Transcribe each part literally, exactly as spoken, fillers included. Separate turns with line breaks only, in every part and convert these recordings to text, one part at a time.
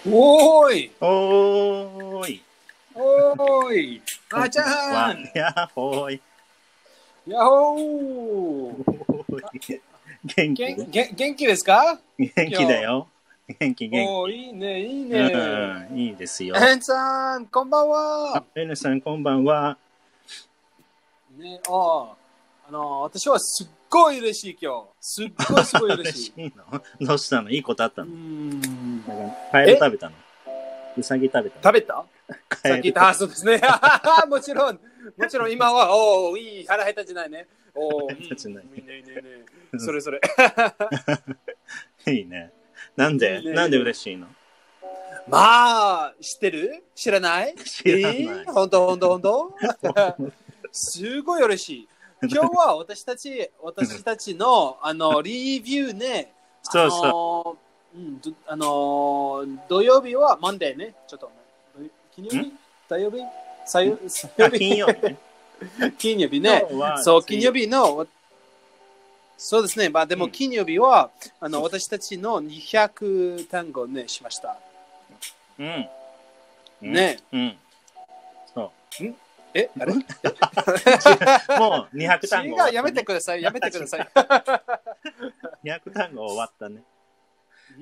おーい
おーい
おーいあーちゃ
わ
ん
やっほーい
やっほー
元気
元元元気ですか？
元気だよ。元気元
おーいいねいい
気。
ね。
うん、いいですよ。
エンさんこんばんは。
エヌさんこんばんは。
ね、ああの私はすっごい嬉しい今日。すっごいすごい嬉しい。
嬉しいの？どうしたの？いいことあった
うー
の？
ん
なんかカエル食べたの？ウサギ食べたの？
食べた？
カエル
さっき言ったそうですね。もちろんもちろん今はおおいい腹減ったじゃないね。おお、うん、いいね
たじゃない
いいねいいね。それそれ。
いいね。なんで
いいね
なんで嬉しいの？
まあ知ってる？知らない？
知らない。
えー、本当本当本当？すごい嬉しい。今日は私たち私たちのあのリビューね。
そうそう。
う。うん、どあの土曜日はマンデーね。ちょっと金曜日？土曜日？さよ
あ、金曜日ね。
金曜日ね。そう、金曜日の、そうですね。まあでも金曜日は、うん、あの私たちのにひゃく単語ね、しました。
うん。
ね。
うん。そう。
んえあれ
もうにひゃく単語、
ね。違う、やめてください。やめてください。
にひゃく単語終わったね。
うん、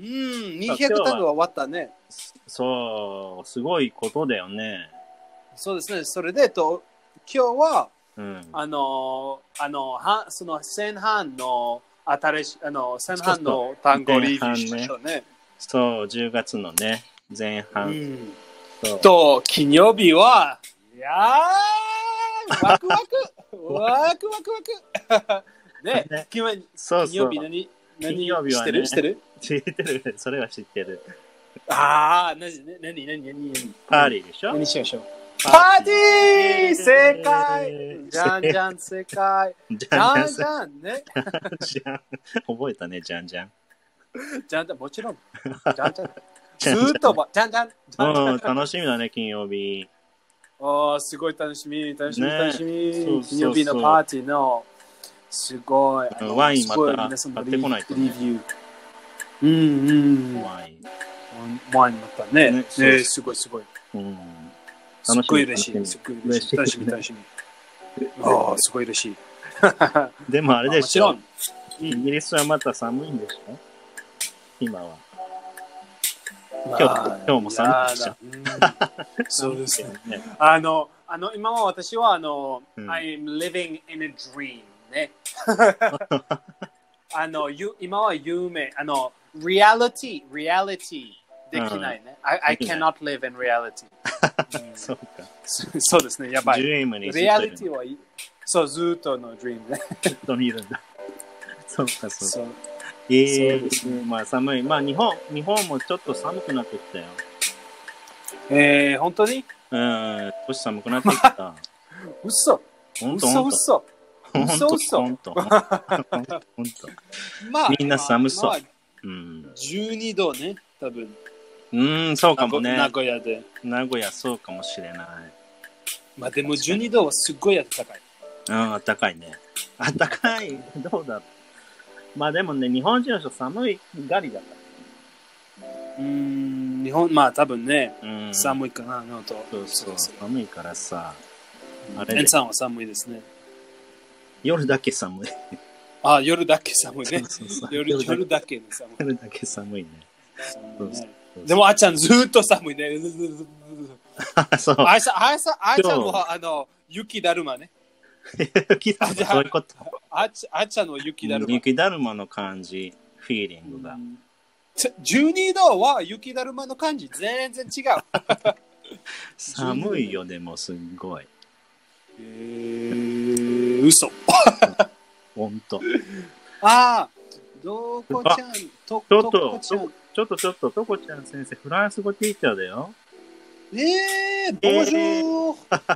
にひゃく単語終わったね。
そう、すごいことだよね。
そうですね。それで、と今日は、
うん、
あの、あの、はその前半の新しい、あの、前半の単語をリビューしましょうね。
そう、じゅうがつのね、前半。うん、
そうと、金曜日は、いやー、ワクワクワクワクワクね、ね金
そうそう
金曜日何、何
金曜日は、ね、
知ってる知ってる
知ってる。それは知ってる。
ああ、なに、なに、なに、なに、
パーティーでしょ？
何しましょう。パーティー正解じゃんじゃん正解じゃんじゃんね。
じゃん。覚えたね、じゃんじゃん。
じゃんじゃん、もちろん。じゃんじゃん。ずーっとば、じゃんじゃん。
うん、楽しみだね、金曜日。
ああ、すごい楽しみ、楽しみ、
ね、
楽しみ。
そうそうそう、
金曜日のパーティーの、すごい。
あのワインまた買ってこないと、ね。
リビュー。うんうん。ワイン。ワインまたね。ね、ねすごいすごい。うん。すっごい嬉しい。すっごい嬉しい。楽しみ、楽しみ。ああ、すごい嬉しい。
でもあれでしょ。
もち
ろん。イギリスはまた寒いんでしょ？今は。今日、今日も寒いでしょ。
そうですね。あの、あの、今は私は、あの、うん、I'm living in a dream ね。あの、ゆ今は夢、あの、reality, reality できないね。うん、I, I cannot live in reality 。
そうか。
そうですね、やばい。
reality
は、そう、ずっとの dream ね。
ずっといるんだ。そうか、そうか。そうええーね、まあ寒い。まあ日本、日本もちょっと寒くなってきたよ。
えー、本当に？
うん、少し寒くなってきた。
嘘。
本当
嘘嘘。嘘嘘。
本当。本当。まあみんな寒そう。まあ
うん。じゅうにどね、多分。
うん、そうかもね。
名古屋で。
名古屋そうかもしれない。
まあでもじゅうにどはすっごい暖かい。
うん、暖かいね。暖かい。どうだろう。まあでもね、日本人の人寒いがりだから。
うーん、日本、まあ多分ね、うん、寒いかな、のと。
そうそう、寒いからさ。
あれ。エンさんは寒いですね。
夜だけ寒い。
ああ、夜だけ寒いね。
そうそうそう
夜, 夜だけ寒い。
夜だけ寒いね。
そうそうでもあっちゃんずっと寒いね。
そう。
あいさん、あいさん、あいちゃんはあの、雪だるまね。
雪だるまそういうこと。
あっちあっちゃんの雪だるま。
雪だるまの感じ、フィーリングが。
じゅうにどは雪だるまの感じ、全然違う。
寒いよ、でもすんごい。
えー、嘘。
ほんと。
ああ、どこちゃん、と、
ちょっと、ちょっとちょっと、とこちゃん先生、フランス語ティーチャーだよ。
えー、bonjour!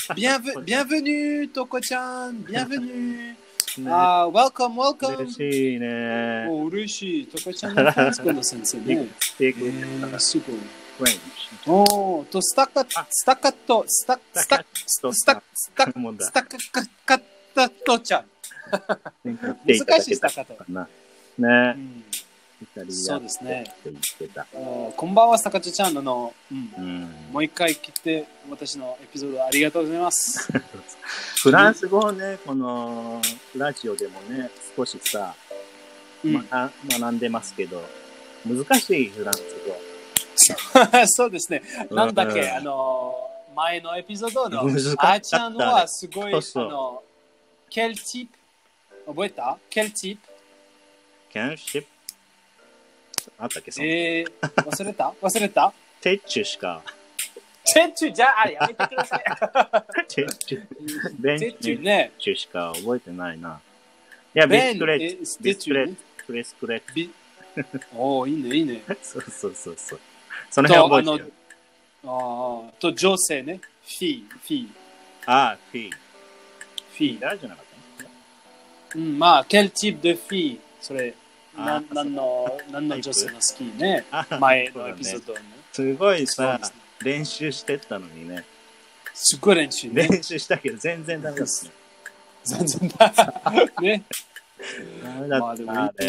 Bienvenue, とこちゃん、bienvenue! ああ、welcome, welcome!
嬉しいね。
お、嬉しい。とこちゃんのフランス語の先生ね。えー、すごい。おー、と、スタッカ、スタッカット、スタッ、スタッ、スタッ、スタッ、スタッ、スタッカッタットちゃん。難しいスタッカット。
ね。 イタリア
そうですね。
って言ってた。
こんばんは、さかちちゃんの、うん
うん、
もう一回来て、私のエピソードありがとうございます。
フランス語をね、このラジオでもね、少しさ、うん、ま、学んでますけど、難しいフランス
語。そうですね。なんだっけ、うん、あの、前のエピソードのあーちゃんはすごい、そうそうあの、ケルチップ、覚えたケルチップ
ケルチップあったっけその
えー、忘れた忘れた
テッチュしか。
テッチュじゃあ、やめてください。
テッチュ。ベン
テッチュね。
テッチュしか覚えてないな。いや、ビスクレット。ビスクレット。ビスクレッ
ト。おお、いいね、いいね。
そうそうそうそう。その辺覚えてる。
ああ、と、女性ね。フィー、フィー。
ああ、フィー。
フィー。
誰じゃなかった
うん、まあ、ケルチップでフィー。それ。な何の何の女性の好きね前のエピソードね。
すごいさ、ね、練習してったのにね。
すごい練習ね。
練習したけど全然ダメですね。
全然ダメ。ね。
ダメだったな、あれ。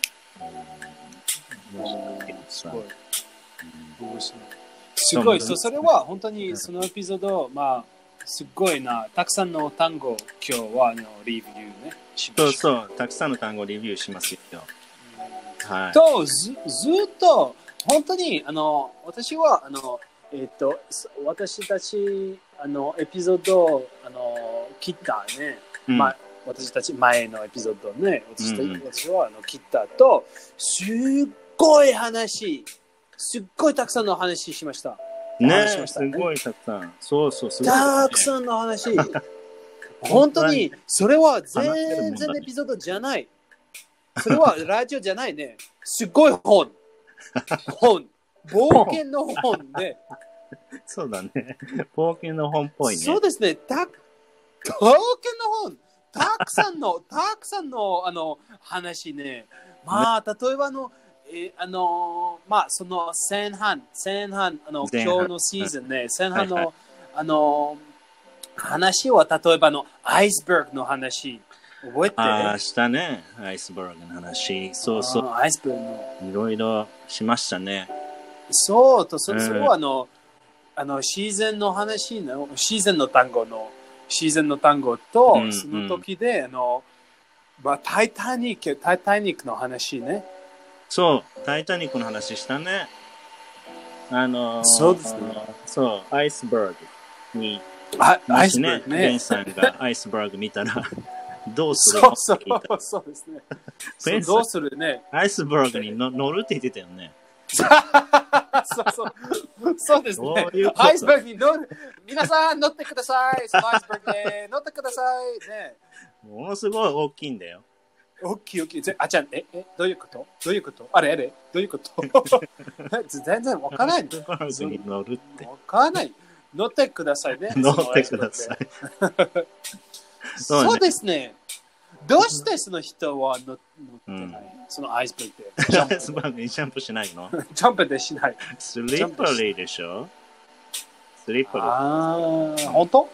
すごい。面白い。すごい。それは本当にそのエピソード、まあ、すごいな。たくさんの単語、今日はのレビューね。
そうそう。たくさんの単語レビューしますよ。はい、
とずずっと本当にあの私はあの、えー、と私たちあのエピソードをあの切ったね、うんま、私たち前のエピソードね 私, た、うん、私はあの切ったとすっごい話すっごいたくさんの話しました
ねしましたねすごいたくさんそうそうすごい、ね、
たくさんの話本当にそれは全然エピソードじゃないそれはラジオじゃないね。すごい本。本。冒険の本で。
そうだね。冒険の本っぽいね。
そうですね。た冒険の本。たくさんの、たくさんのあの話ね。まあ、例えばあの、えあの、まあ、その前半、前半、あの、今日のシーズンね、前半の、はいはい、あの、話は例えばのアイスバーグの話。覚えて
ああ、したね。アイスバーグの話。そうそう。
アイスバーグの。
いろいろしましたね。
そうと、それはあの、あの、シーズンの話の、シーズンの単語の、シーズンの単語と、うんうん、その時で、あの、まあ、タイタニック、タイタニックの話ね。
そう、タイタニックの話したね。あのー、
そうですね。
そう、アイスバーグに、
あアイスバーグね。
ベンさんがアイスバーグ見たら、どうする
のそうそうそうですね。そうどうするね。
アイスバーグにの乗るって言ってたよね。
そうそう。そうですね。ううアイスバーグに乗る。皆さん乗ってください。そのアイスバーグで乗ってください。ね。
ものすごい大きいんだよ。
大きい大きい。あ、じゃあ、え、え、どういうことどういうことあれあれどういうこと全然わからない。アイスバ
ーグに乗るって。
わからない。乗ってくださいね。
乗ってください。
そう, ね、そうですね。どうしてその人は乗ってない、うん、そのアイスバーグで。
アイスバーグにジャンプしないの
ジャンプでしない。
スリッパリーでしょスリッパリー。
ああ、本当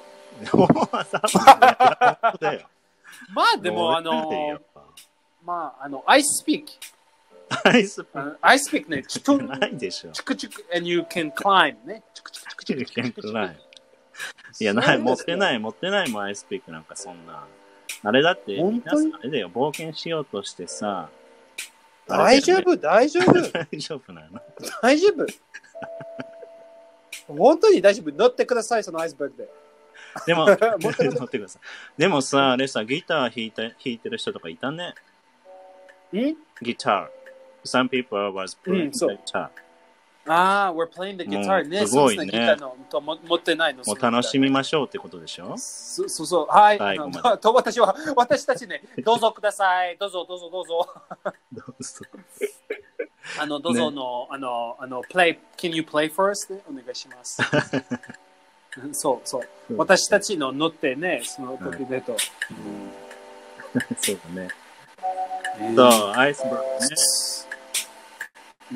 まあでも、あの、まあ、あの、アイスピーク。
アイスピーク。
アイスピークね、チク
ないでしょ。
チクチク、and you can climb ね。チクチクチクチクチクチクチク。
いや、ない、持ってない、持ってないもん、アイスピークなんかそんな。あれだって、皆さんあれだよ、冒険しようとしてさ。
大丈夫、大丈夫。
大丈夫なの
大丈夫。本当に大丈夫。乗ってください、そのアイスバーグで。
でも、乗ってください。でもさ、あれさ、ギター弾いて、弾いてる人とかいたね。
ん
ギター。Some people was playing the guitar.
ああ、we're playing the guitar ね。
すごいね。
ギターのとも持ってないの。
もう楽しみましょうってことでしょ
そそうそう。はい。あのと私は、私たちね、どうぞください。どうぞ、どうぞ、どうぞ。
どうぞ。
あの、どうぞの、ね、あの、あの、play, can you play for us? ね、お願いします。そうそう。私たちの乗ってね、その時でと。
そうだね。そう、アイスバーグね。
うん、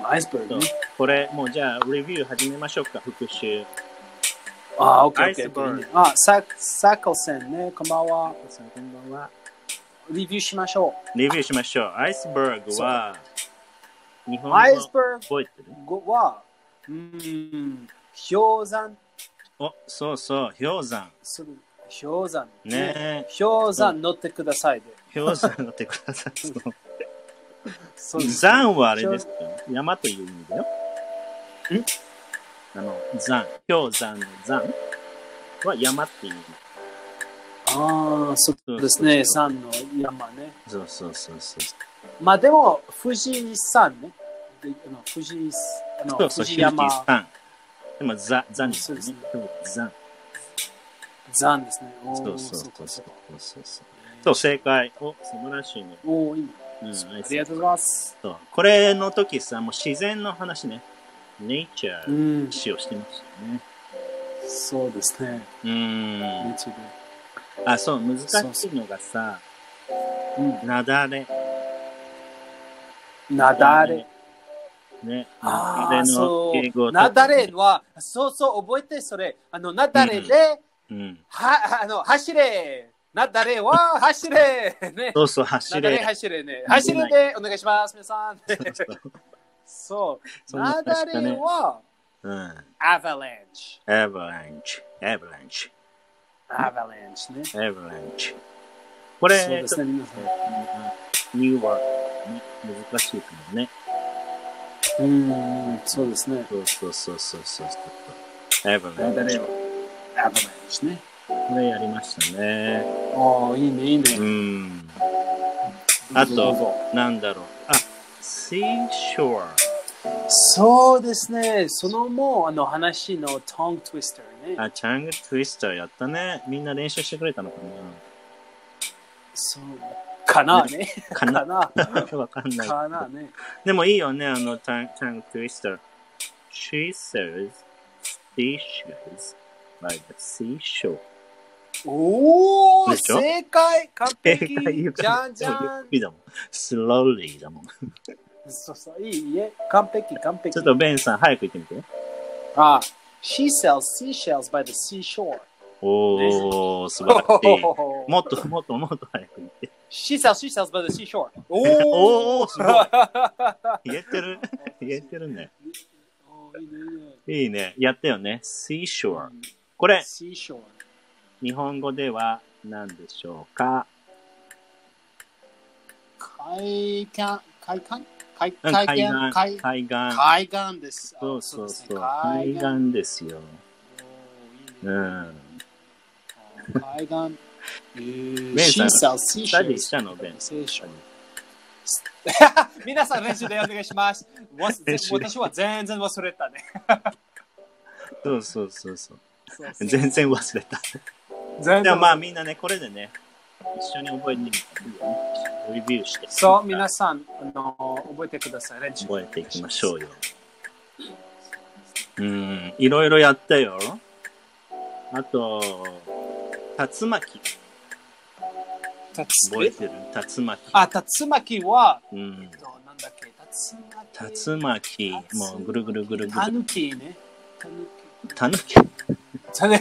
アイスバーグ、ね。
これ、もうじゃあ、レビュー始めましょうか、復習。
あ、オッケー、オッケー。あ、サ、サコセンね、こんばんは。
こんばんは。
レビューしましょ
う。レビューしましょう。アイスバーグは、 日本語
アイスバ
覚えてる？
ーグは、うーん、氷山。
お、そうそう、氷山。
それ氷山。
ねえ。
氷山乗ってくださいで。
氷山乗ってください。
そうです
山はあれですか？山という意味だよ。
ん
あの、山。氷山の山は山っていう意味。
ああ、そうですね。山の山ね。
そうそうそうそう。
まあでも、富士山ね。であの富士あの
そうそう、
富士山。
富士山。でも、ザ、ザに
そうですね。
山。
山ですね。
そうそうそうそうそうそう。そう、正解。お、素晴らしいね。
おー、いいね。
うん、
ありがとうございます。
そう。これの時さ、もう自然の話ね。ネイチャー
うん
の話をしてましたよね。
そうですね。
うーん。
ネイチャーで
あ、そう、難しいのがさ、
うん
なだれ。
なだれ。
ね。
ああ、
なだれの
そ
敬語
う。なだれは、そうそう、覚えて、それ。あの、なだれで、
うん。
は、あの、走れ。なだれは、走れ。ね。
そうそう、走
なだれ、
れ。
走れね。走れで、お願いします、皆さん。そう。
そんな
なだれは、
うん。
アバランチ。
アバランチ。アバランチ。
アバランチね。
アバランチ。これ、
そうですね、皆さん。
ニューワードね、難しいかもね。
うーん、そうですね。
そうそうそうそうそうそう。アバランチ。
なだれは、アバランチね。
これやりましたね。
おー、いいね、いいね。
うん。あと、なんだろう。あ、seashore。
そうですね。そのもう、あの話のトングトゥイスターね。
あ、チャングトゥイスターやったね。みんな練習してくれたのかな？
そうかなね。
かな
かな。
わかんない。
かなね。
でもいいよね、あの、チャンチャングトゥイスター。She says seashells by the seashore.
おー、
でしょ
正解完璧
正解言う
じ
から
ゃんじゃん。
ゆっくりだもん。slowly だもん。
そうそう、いいえ。完璧、完璧。
ちょっとベンさん、早く言ってみて。
あ、She sells seashells by the seashore.
おー、素晴らしい。もっともっともっと早く言って。
She sells seashells by the seashore. おー
おー、すごい。言えてる言えてるね。
おーいいね、いいね。
いいね。やったよね。seashore。これ、
seashore。
日本語では何でしょうか？
海岸、海岸海
海
海岸
岸。
海
海岸。
海岸です。
そうそうそう。
海
海岸ですよ。
おーいいね
うん。
海岸。えー、
ベンさん
She sells
スタディ
seashells.
したの、ベン。
聖書皆さん練習でお願いします。わ私は全然忘れたね。
そうそうそうそう。
そうそう
全然忘れた。
全然
でもまあみんなね、これでね、一緒に覚えてみていいよね。レビューして。
そう、皆さん、あの覚えてください。練習
覚えていきましょうよ。うん、いろいろやったよ。あと、竜巻。覚えてる？竜巻。
あ、竜巻は、
うん。
なんだっけ、竜巻。
竜巻。もうぐるぐるぐるぐる。
タヌキね。
タヌキ。
違う違う。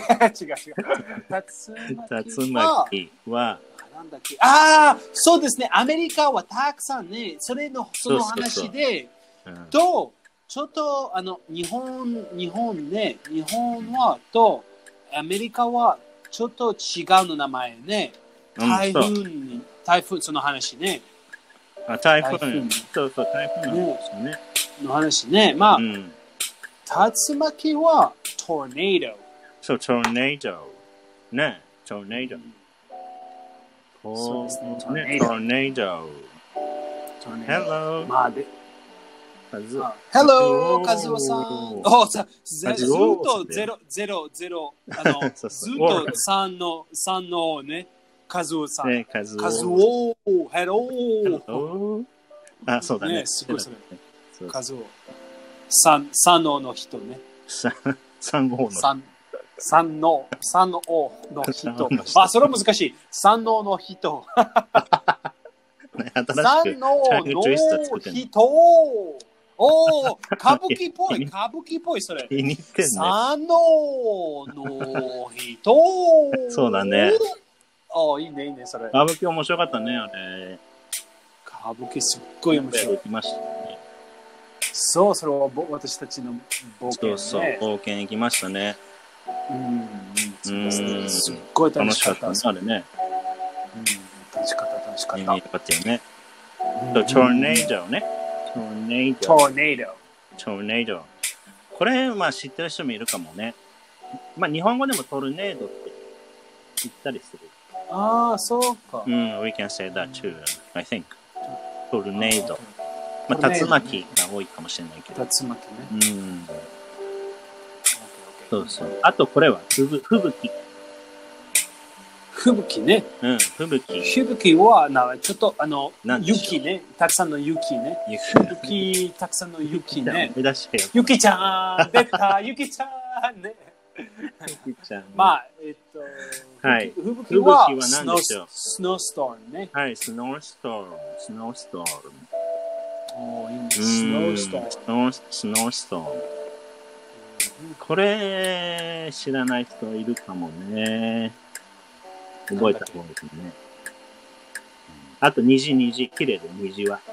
竜巻は、
なんだっけ。ああ、そうですね。アメリカはたくさんね、それの、その話で、
そうそうそう、うん、
と、ちょっと、あの、日本、日本ね、日本は、と、アメリカは、ちょっと違うの名前ね。台風に、台風、その話ね。
あ、台風。そうそう、台風の話ね。
の話ね。まあ、
うん、
竜巻は、トーネード。
そう、トーネード。ね、トーネード。
そうですね、
トーネード。トーネード。Hello。
まあで、
カズオ。
Hello、カズオさん。おさずっとゼロ、ゼロ、ゼロ、あの、ずっと三の、三のね、カズオさん。
ね、カズオ。
カズオ、Hello。
あ、そうだね。
すごいそれ。カズオ。三、三のの人ね。
三、三号の。
三、三の、三のの人。あ、それは難しい。三のの人。三のの人。おー、歌舞伎っぽい、歌舞伎っぽい、それ。
気に入ってんね。
三のの人。
そうだね。
あ、いいね、いいね、それ。
歌舞伎面白かったね、あれ。
歌舞伎すっごい面白い。
きましたね。
そう、それは私たちの冒険、ね。
そうそう、冒険行きましたね。
うん、そうですね。すっ
ごい楽しかった。
楽しかったね。
うん、
楽しかった、楽しかった。
よかったよね。トルネードね。トルネード。
トルネード。
トルネード。これ、まあ知ってる人もいるかもね。まあ日本語でもトルネードって言ったりする。
ああ、そうか。
うん、we can say that too, I think. トルネード。まあ竜巻が多いかもしれないけど。
竜巻ね。
うん。そうそう。あとこれは、ふぶ、吹雪。
吹雪ね。
うん、吹雪。
吹雪は、な、ちょっと、あの、雪ね。たくさんの雪ね。雪、たくさんの雪ね。雪ちゃん出た雪ちゃんね。
雪ちゃん。
まあ、えっと、
はい。
吹雪は、
何でしょう。
スノーストームね。
はい、スノーストーム。スノーストーム。
おー、いいね。スノーストーム。
スノーストーム。これ、知らない人いるかもね。覚えた方がいいですね。あと、虹、虹、綺麗で、虹は。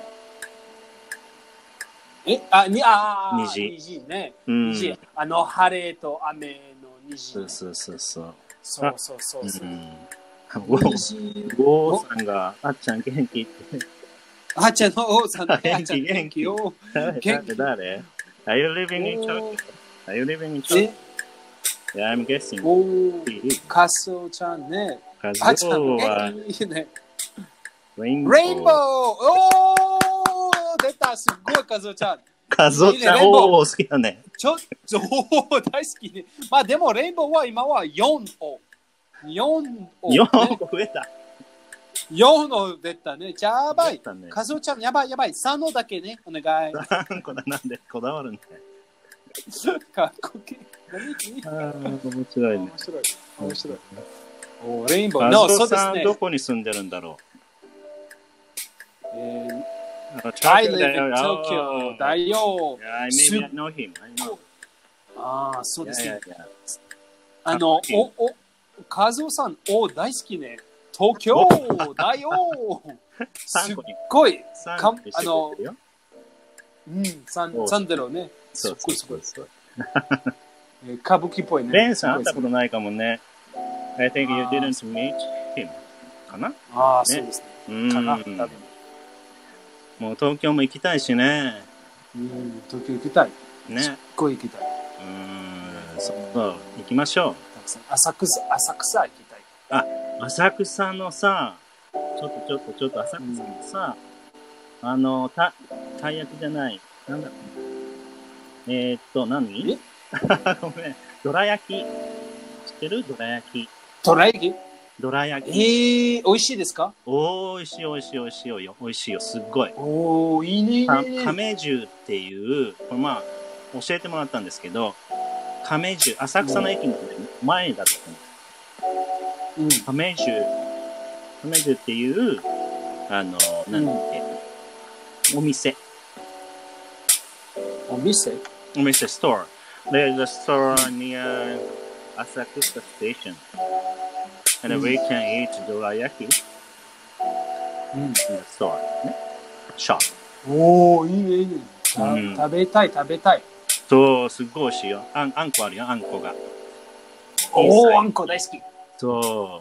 えあ、に、あ
ー、虹。
虹ね。
うん、
虹。あの、晴れと雨の虹。
そうそうそうそう。
そうそうそうそう。うん、
ゴーさんが、あっちゃん元気って。
あっちゃんの王さんの
元気元気。誰誰誰 ?Are you living in Turkey?Are you living in Turkey? Yeah, I'm guessing.
おー、カソちゃんね。
カズオは、
ね、
レインボー。
レインボーおー出たすっごいカズオちゃん。
カズオちゃん、おー好きだね。
ちょっと、大好きね。まあでもレインボーは今はよんを。よんを、ね。
よん個増えた。
よんの出たね。やばい。
ね、
カズオちゃんやばいやばい。さんのだけね。お願い。
さんこだなんでこだわるんだよ。
かっこいい。
ああ、面白いね。
面白い。面白い。おレインボー。
カズオさん、どこに住んでるんだろ
う。え
ー、
I live in Tokyo だよ。
maybe I know him. I know.
ああ、そうですね。あの、お、お、カズオさん、お、大好きね。東京だよ。すっごい。かあの、うん、サンサンデロね。
そうそうそうそう。
歌舞伎っぽいね。
レンさん会ったことないかもね。I think you didn't meet him. かな
ああ、そうですね。かな多分。
もう東京も行きたいしね。
うん、東京行きたい。ね。すっごい行きたい。
うん、そう、行きましょう。
浅草、浅草行きたい。
あ、浅草のさ、ちょっとちょっとちょっと浅草のさ、うん、あの、た、たい焼きじゃない。なんだえー、っと、何えごめん。どら焼き。知ってるどら焼き。
どら焼き
どら焼き。
えー、美味しいですか
おいしいおいしいおいしいよ。おいしいよ。すっごい。
おー、いいねいいね。
亀十っていう、これまあ、教えてもらったんですけど、亀十、浅草の駅の前だったの。うん。亀十、亀十っていう、あの、なんだっけ、うん、お店。
お店
お店、ストア。There's a store near Asakusa Station. And we can eat dorayaki in the store. ね。shop.
おー、いいね、いいね。うん、食べたい、食べたい。
そう、すっごい美味しいよ。あん、あんこあるよ、あんこが。
おー、あんこ大好き。
そう。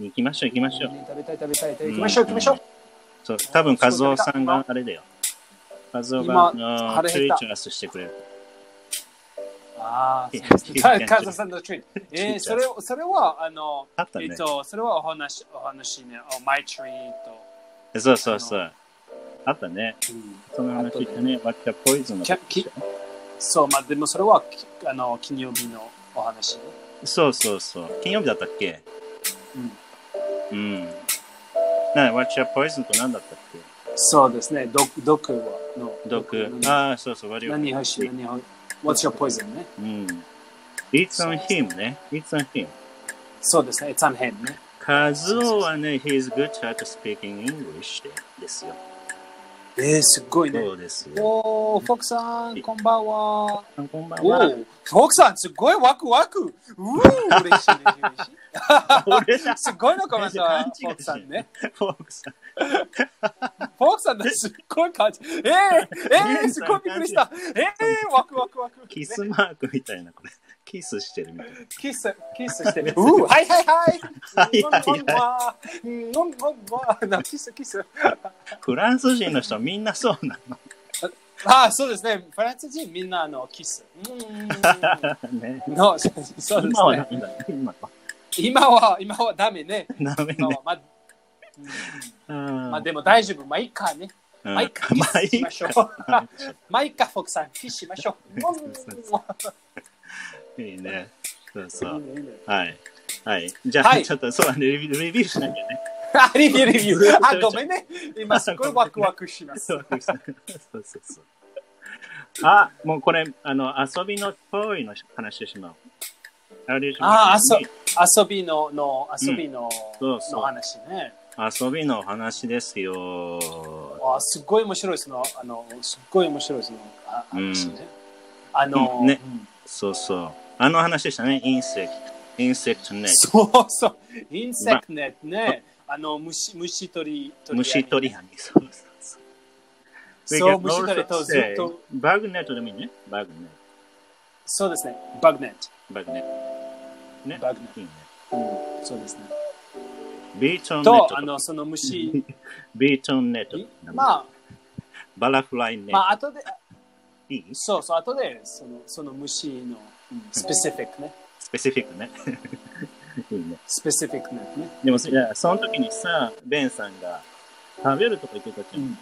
行きましょう、行きましょう。
食べたい、食べたい、行きましょう、行きましょう。
そう、多分、和夫さんがあれだよ。和夫が、あの、ツイーチャースしてくれる。
ああ、カズさんのツイート。えー、それ、それは、あの、
あったね、
えっと、それはお話、お話ね、お、マイツイート。
そうそうそう。あったね。うん、その話ってね、ワッチャポイズンの話。
そう、まあ、でもそれは、あの、金曜日のお話ね。
そうそうそう。金曜日だったっけうん。うん。な、ワッチャポイズンと何だったっけ
そうですね、毒、毒はの。
毒。ああ、そうそう、
何欲しい何欲しい What's your poison ね。
うん。It's on him ね。It's on him.
そうですね。It's on him ね。
カズオはね、he's good at speaking English ですよ。
えー、すごいね。
そうですよ。
おー、フォークさん、こんばんは。
こんばんは。
フォークさん、すごいワクワク。うー、嬉しい、嬉しい。
俺だ
すごいのかもしれない。フォークさんね。
フォークさん。
フォークさんのすっごい感じ。えー、えー、すごいびっくりした。えー、ワクワクワク。
キスマークみたいな、これ。キスしてるみたいな。
キス、キスしてる。うー、はいはいはい。
はいはいは
うんうんうん、キスキス。
フランス人の人みんなそうなの。
ああ、そうですね。フランス人みんなあのキス。うん
ね。
のそうですね。
今はなんだ今は。
今は、今はダメね。
ダメね。
今はまあ、
うん、
まあでも大丈夫。まあいいかね。
うん、
まあいいか。キスしましょう。まあいいか、フォークさん。キスしましょ
う。いいね。そうそう。
いいねいいね
はい。はい。じゃあ、はい、ちょっとそう、レビュー、レビューしなきゃね。
あ、レビュー、レビュー。あ、ごめんね。今すごいワクワクします。そうそう
そう。あ、もうこれ、あの、遊びの行為の話してしまう。
ああ、遊びの、の、遊びの、
うん、そうそう
の話ね。
遊びの話ですよ。
あ、すっごい面白いですの。あの、すっごい面白いですの。あ、話ね。
うん、
あの、
うん、ね、うん、そうそう。あの話でしたね。インセクト。インセクトネット。
そうそう。インセクトネットね。あの、虫、虫取り、
虫取り網。そうそうそう。
そう、虫取りとずっと。
バグネットでもいいね。バグネット。
そうですね。バグネット。
バグネット。ね。
バグネット。
いいね。
うん、そうですね。
ビートンネット。
と、あの、その虫。
ビートンネット。
まあ、
バラフライネット。
まあ、後で、
いい
そうそう、後で、その、その虫の、スペシフィックね。
スペシフィックね。いいね。
スペシフィックね。
でも、いや、その時にさ、ベンさんが食べるとか言ってたじゃん。うん、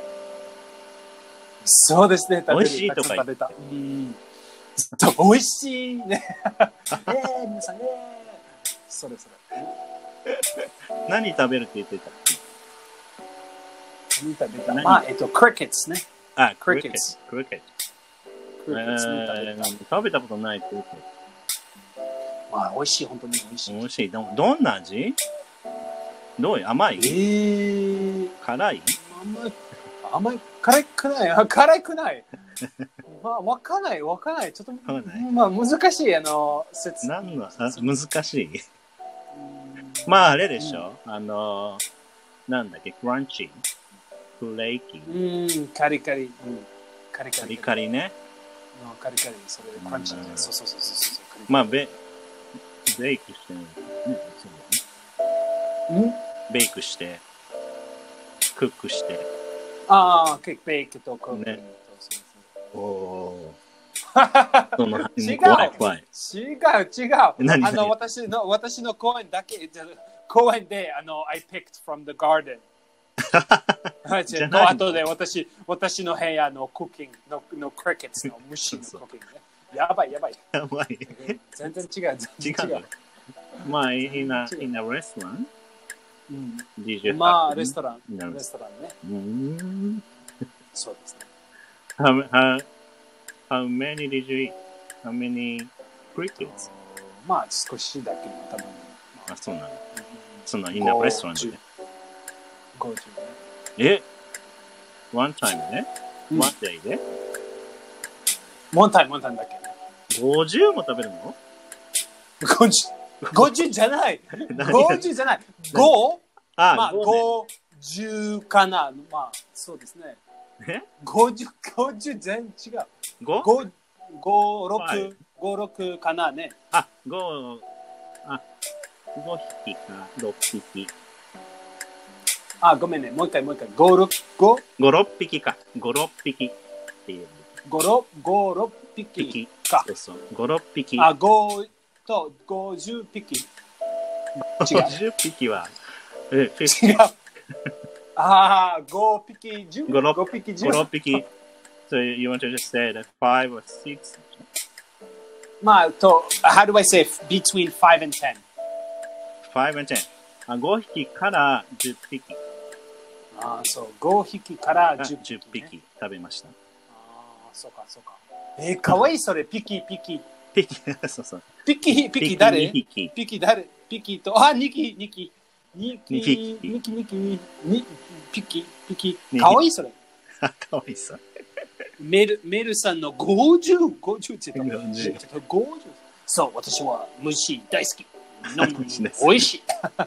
そうですね。
美味しいとか
言ってた。うん。美味しいね。えー、皆さん、えー。それそれ。
何食べるって言ってたっけ？
何食べた？まあ、えっと、クリケッツね。
あ、クリケッツ。クリケッツ。
クリケッツね、
食べたことないクリケッツ。
まあ、美味しい、本当に美味しい。
美味しい。ど、どんな味？どういう甘い？
えー、
辛い？
甘い。甘い。辛くない。辛くない。まあ、わかんない、わかんない。ちょっと、まあ、難しい、あの、説。
何の、あ、難しい。まあ、あれでしょ、うん、あの、なんだっけ、クランチ、フレーキ。
うん、カリカリ。うん、カリカリ。
カリカリね。
カリカリ、それ、クランチ、ね。そうそうそうそう。
まあ、ベ、ベイクしてる、ね。そうね。んベイクして、クックして。
ああ、ケーキ、ベイクとクック。ね、
おお。
その違う
怖い怖い。
違う違う。あの私の私の公園だけ公園であの I picked from the garden。の後で私私の部屋のクッキングののクリケッツの虫のクッキングね。やばいやばい。
やばい。
全然違う全然違う。
まあ in a in a restaurant。
うん。まあレストランレストランね。
うん。
そうですね。
How, how, how many did you eat? How many crickets?
まあ少しだけ多分。
あ、そうなの。その in a restaurant で。
ごじゅう
ね。え ?one time ね、うん、one day で
?one time, one time だけ。
ごじゅうも食べるの ?
ごじゅう。ごじゅうじゃない。ごじゅうじゃない。ご?
あ、
まあ、ごじゅうかな。まあ、そうですね。
え ?
ごじゅう、ごじゅう全然違う。
ご?
ご、ご、ろく、ご、ろくかなね。
あ、ご、あ、ごひきか、ろっぴき。
あ、ごめんね。もう一回、もう一回。ご、ろく、ご?
ご、ろっぴきか。ご、ろっぴきっていう。
ご、ろく、ご、ろっぴきか。
そうそう。ご、ろっぴき。
あ、ごとごじゅうぴき。違う。
ごじゅっぴきは、え、
違う。ああ、ごぴき、じゅう。
ご、ろっ
ぴき、
じゅう。ご、ろっぴき。So you want to just say that five or six?
まあ、と、how do I say between five and ten?
five and ten. あ、ごひきからじゅっぴき。
ああ、そう。ごひきからじゅっぴき、ね。
じゅっぴき食べました。あ
あ、そうか、そうか。えー、かわいい、それ。ピキ、ピキ。
ピキ、そうそう。
ピキ、ピキ誰？
ピキ、
ピキ誰？ピキと、あ、ニキ、ニキ。ニキ、ニキ、ニキ、ニキ、ピキ、ピキ。かわいい、それ。
かわいそう。
メル、メルさんのごじゅう、ごじゅうって言った。ごじゅう。そう、私は虫大好き。飲む美味しい。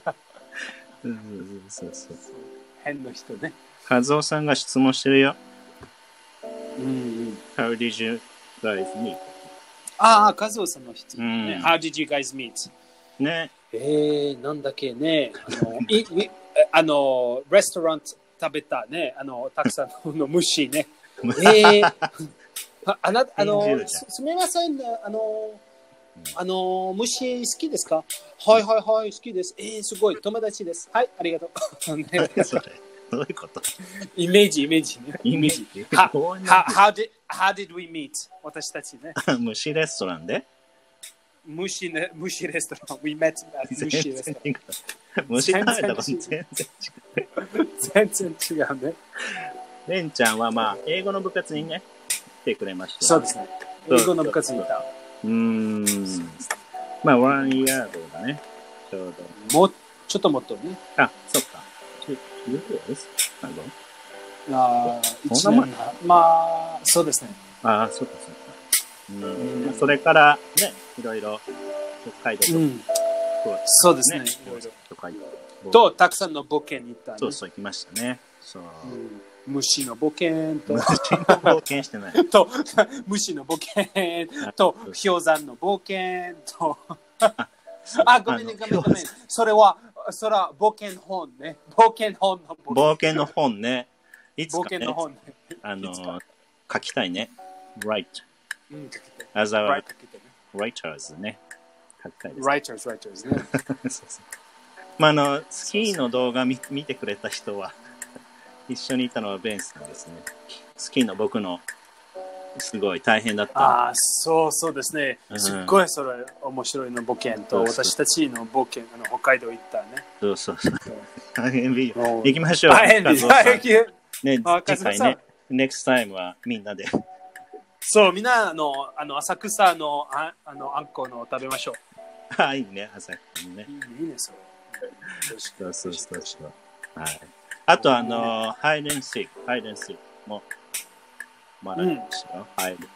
うんそうそうそう。
変な人ね。
カズオさんが質問してるよ。
うんうん。
How did you guys meet?
ああ、カズオさんの質問ね。
うん、
How did you guys meet?
ね。
えー、なんだっけね。あの、いいあのレストラン食べたね。あの、たくさんの虫ね。えー、ああなあの、す、すみません、あの、あの、虫好きですか？はいはいはい、好きです。えー、すごい、友達です。はい、ありがとう。ね、
それどういうこと？
イメージ、イメージね。
イメージ。
は、は、how did, how did we meet? 私たちね。
虫レストランで？
虫ね、虫レストラン。We met at 虫レストラン。
虫食べたこと全然違う。
全然違うね。
レンちゃんはまあ、英語の部活にね、来てくれました。
そうですね。英語の部活にいた。
うーん。まあ、ワンイヤードだね。ちょう
ど。もう、ちょっともっとね。
あ、そっか。two years?
ああ、一年。まあ、そうですね。
ああ、そっかそっか。うん。それからね、いろいろ、北海道と、うん、
そうですね。
北海道
と、たくさんの冒険に行った、ね。
そうそう、行きましたね。そう。
うん虫の冒険と
虫の冒険してない
と虫の冒険と氷山の冒険とあごめんねごめんごめんそれはそれは冒険本ね冒険本の
冒険の本ねいつか、ね、
冒険の本ね
あの書きたいね write、
うん、書きたい
as a
write
writers ね書きたいです
writers writers ね
そうそうまああのスキーの動画見見てくれた人は一緒にいたのはベンさんですね。スキーの僕のすごい大変だった。
ああ、そうそうですね。すっごいそれ面白いの冒険と、うん、私たちの冒険、あの北海道行ったね。
そうそうそう。大変ビール。行きましょう。
大変です。大変
ね、次回ね、next time はみんなで。
そう、みんなあのあの浅草のああのあんこの食べましょ
う。あ、いいね、浅草ね。
いいね、いいね、それ。
そうそうそうそう。はい。あと、あの、ハイデンシーク、ハイデンシークも、まだでしたよ。ハイデンシーク。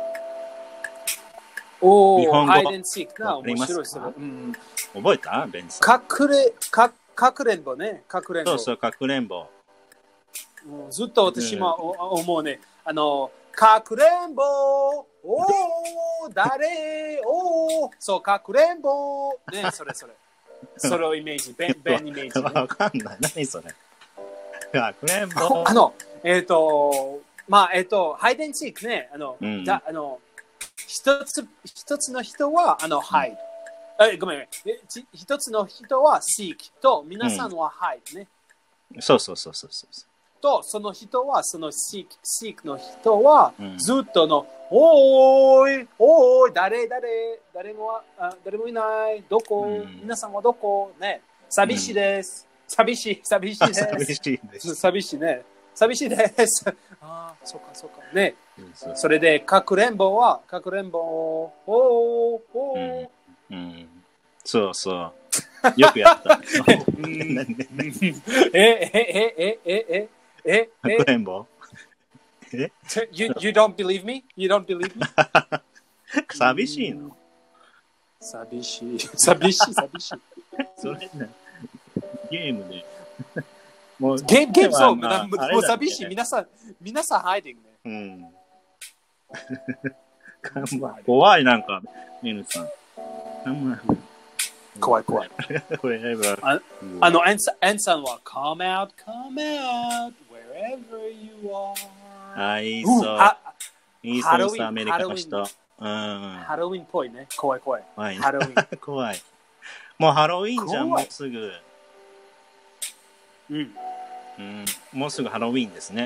おー、ハイデンシークな、面白いそれ。うん、
覚えたベンさん。
隠れ、か、かくれんぼね、かくれんぼ。
そうそう、かくれんぼ。
ずっと私も思うね。あの、かくれんぼおー、誰おー、そう、かくれんぼね、それそれ。それをイメージ、ベン、ベンイメージ、ね。
わかんない。何それ。かくれんぼ。
あの、えっ、ー、と、まあ、えっ、ー、と、ハイデンシークね、あの、うん、だあの一つ、一つの人は、あの、ハイド。え、ごめん、一つの人はシークと、皆さんはハイドね、
うん。そうそうそうそうそう。
と、その人は、そのシーク、シークの人は、ずっとの、うん、おーい、おーい、誰、誰、誰も、あ誰もいない、どこ、うん、皆さんはどこ、ね、寂しいです。うん寂しい、寂しいです。
寂しいです。
寂しいね。寂しいです。ああ、そうか、そうか。ね。それで、かくれんぼは、かくれんぼ、おー、おー。
うん。うん、そうそう。よくやった。
え、え、え、え、え、え、
え、かくれんぼ
え you, you don't believe me? You don't believe me?
寂しいの
寂しい。寂しい、寂しい。
それね。ゲームで。
もうゲーム、ゲームそう、まあ、もう寂しい。皆さん、皆さんハイディング
ね。うん。怖い、なんか、ミヌさん。
怖い、怖い。あ, あの、エンさん、エンさんは、come out, come out, wherever you are.
あ、いいそう。いいそうさ、アメリカの人。うん。
ハロウィンっぽいね。怖い、怖い。
怖い、
ハロウィン。
怖い。もうハロウィンじゃん、もうすぐ。
うん、
うん、もうすぐハロウィンですね。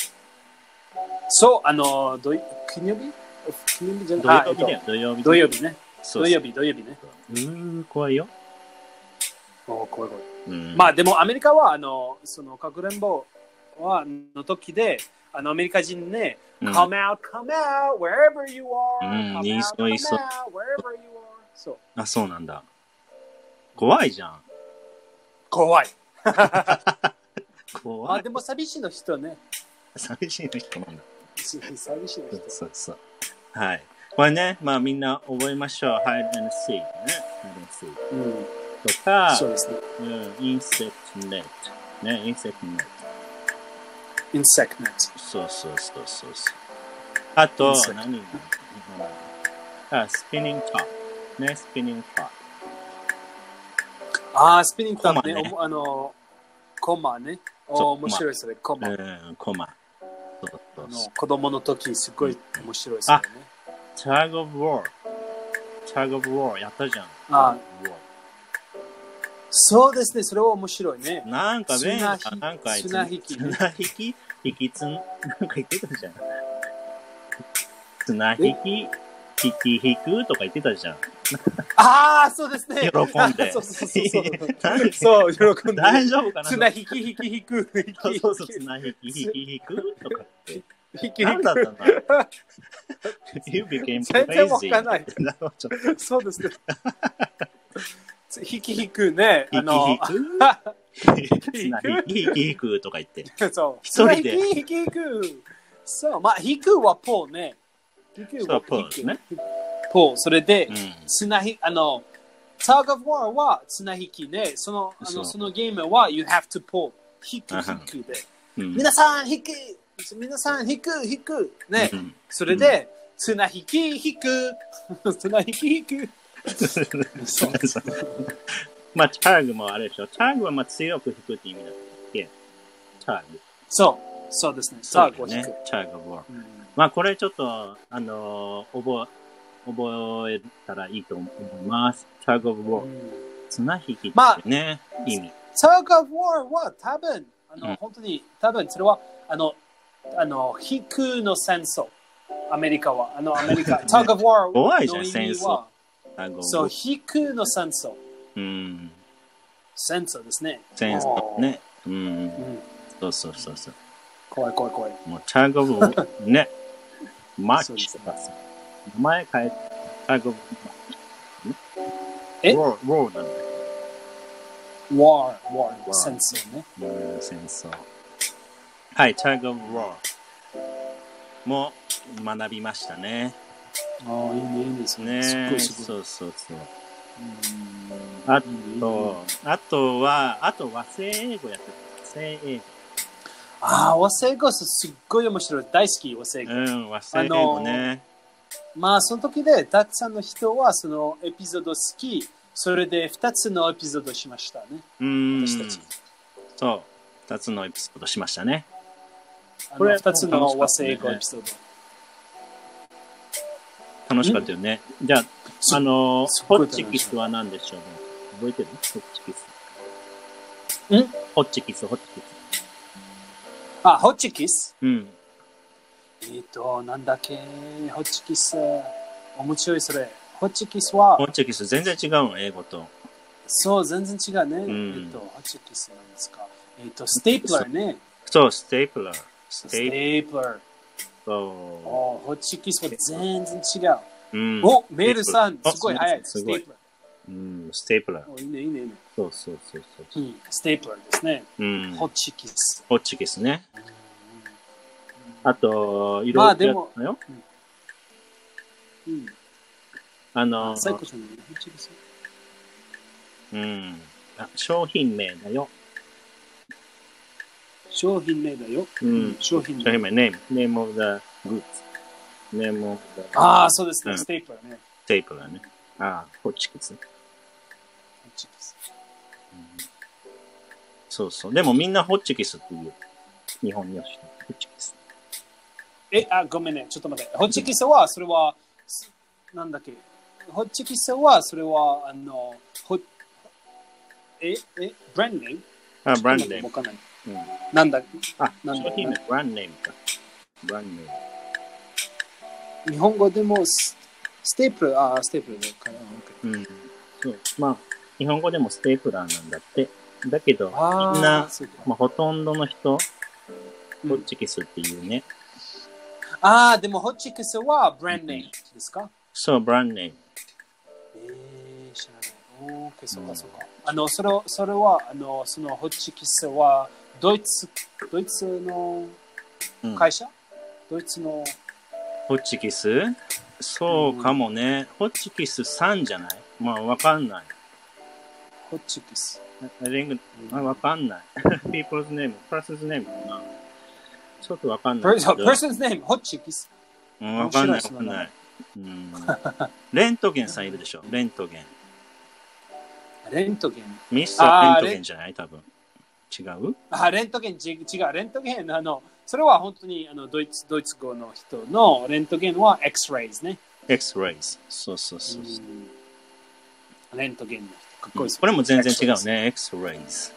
そう、あの、土金曜日金曜日じゃない
土曜日だよ、土曜日。
土曜日ね。土曜日、土曜日ね。
うーん、怖いよ。
お怖い怖い。うん、まあでもアメリカは、あの、その、かくれんぼはの時で、あの、アメリカ人ね、うん、come out, come out, wherever you are.
うん、いいそう、いいそう。
wherever you are. そう。
あ、そうなんだ。怖いじゃん。
怖い。
怖い。
まあでも寂しいの人ね。
寂しいの人なんだ。
寂しいの人。
そうそう。はい。これね、まあみんな覚えましょう。hide and seek ね。hide and seek。うん。とか、
そうですね。
うん、insect net。ね、insect net。
insect net。
そうそうそうそう。あと、何があ、spinning top。ね、spinning top。
ああ、スピニングトップね。あの、コマね。面白いそれ、コマ。
うん、コマ。そうそうそう。
子供の時、すごい面白いそれね。
Tug of War。Tug of War やったじゃん。
ああ。そうですね、それは面白いね。
なんかね、なんか
綱引き、ね。
綱引き引きつん、なんか言ってたじゃん。綱引き、引き引くとか言ってたじゃん。
ああ、そうですね。
喜んで。
そうそうそうそう。そう、喜んで。
大丈夫かな
綱引き引き引く。
そうそう、綱引き引き引くとかって。
引き
何だったんだYou became crazy.
全然わかんない。そうですね。引き引くね。
あの、引き引く引き引くとか言って。
そう。
一人で。
引き引く。そう、まあ、引くはポーね。引くは
ポーですね。
ポー。それで、綱引き、あの、Tug of War は綱引きね。その、あの、そのゲームは You have to pull。引く引くで。皆さん引く。皆さん引く引くね。それで、綱引き引く。綱引き引く。
そうそう。まあ、チャーグもあれでしょ。チャーグはまあ強く引くって意味だったっけ？チャーグ。
そう。そうですね。チャーグを引く。
チャーグは。まあ、これちょっと、あのー、覚え、覚えたらいいと思います。チャーグオブウォー。綱引きってね、まあ、意味。
チャーグオブウォーは多分、あの、うん、本当に、多分それは、あの、あの、引くの戦争。アメリカは。あの、アメリカ。チャーグオブウォーの意味は、そう、引くの戦争。
うん。
戦争ですね。
戦争ね。うん。うん、そうそうそうそう。
怖い怖い怖い。
もうチャーグオブウォーね。マッチとかさ。名前変えて、チャーグオブウォー。
え？
ウォー、ウォーなんだよ。
ウォー、ウォー、戦争ね。
うん、戦争。はい、チャーグオブウォーも学びましたね。
ああ、いいね、いいですね。
すごいすごい。そうそうそう。あと、あとは、あと和製英語やってた。和製英語。
ああ、和製英語すっごい面白い。大好き、和製英語。
うん、和製英語ね。
まあ、その時で、たくさんの人はそのエピソード好き、それで二つのエピソードしましたね。
うん。私たち。そう、二つのエピソードしましたね。
これ二つの和製英語エピソード。
楽しかったよね。じゃあ、あの、ホッチキスは何でしょうね。覚えてる？ホッチキス。
ん？
ホッチキス、ホッチキス。
あ、ホッチキス？
うん。
えっ、ー、と、なんだっけ、ホッチキス。面白いそれ。ホッチキスは。
ホッチキス全然違うの、英語と。
そう、全然違うね。うん、えっ、ー、と、ホッチキスなんですか。えっ、ー、と、ステープラーね。
そう、ステープラー。
ステープラー。
そう。
ホッチキスは全然違う。
うん、
お、メールさん、すごい早い。ステープラー。
うん、ステープラー。
お、いいね、いいね、いいね。
そうそうそうそう、
うん。ステープラーですね。
うん。
ホッチキス。
ホッチキスね。あと、いろいろやったよ。まあ、でも、うん。あの、
サイコさんのホッチキス。
うん。あ、商品名だよ。
商品名だよ。
うん。
商品名。
商品名、name. name of the goods. name of the...
ああ、そうですね。ステープラーね。
ステープラーね。ああ、ホッチキス。ホッ
チキス、
うん。そうそう。でもみんなホッチキスっていう。日本にはしてホッチキス。
え、あ、ごめんね。ちょっと待って。ホッチキスは、それは、なんだっけ。ホッチキスは、それは、あの、ホえ、え、ブランドネーム？
あ、ブランドネーム。
わかんない。うん、なんだ
あ、なんだ商品名、ブランドネームか。ブランドネー
ム。日本語でもス、ステープラー、あ、ステープラーだから。
うん。そう。まあ、日本語でもステープラーなんだって。だけど、みんな、まあ、ほとんどの人、ホッチキスっていうね。
うん、ああ、でもホッチキスはブランドネームですか？
そう、ブランドネーム。
えー、知らない。おー、そうかそうか。あの、それ、それは、あの、そのホッチキスは、ドイツ、ドイツの会社、うん、ドイツの。
ホッチキスそうかもね。うん、ホッチキスさんじゃないまあわかんない。
ホッチキス。
リング、あ、わかんない。people's name、person's name かな。ちょっとわかんない。
person's name、ホッチキス。
うん、わかんない、わかんない。うん、レントゲンさんいるでしょ。レントゲン。
レントゲン。
ミスターレントゲンじゃない多分。違う
あ、レントゲン、違う。レントゲン、あの、それは本当にあのドイツ、ドイツ語の人のレントゲンは X-rays ね。
X-rays。そうそうそう。
レントゲンの人。かっこいいです、
うん、これも全然違うね。X-rays。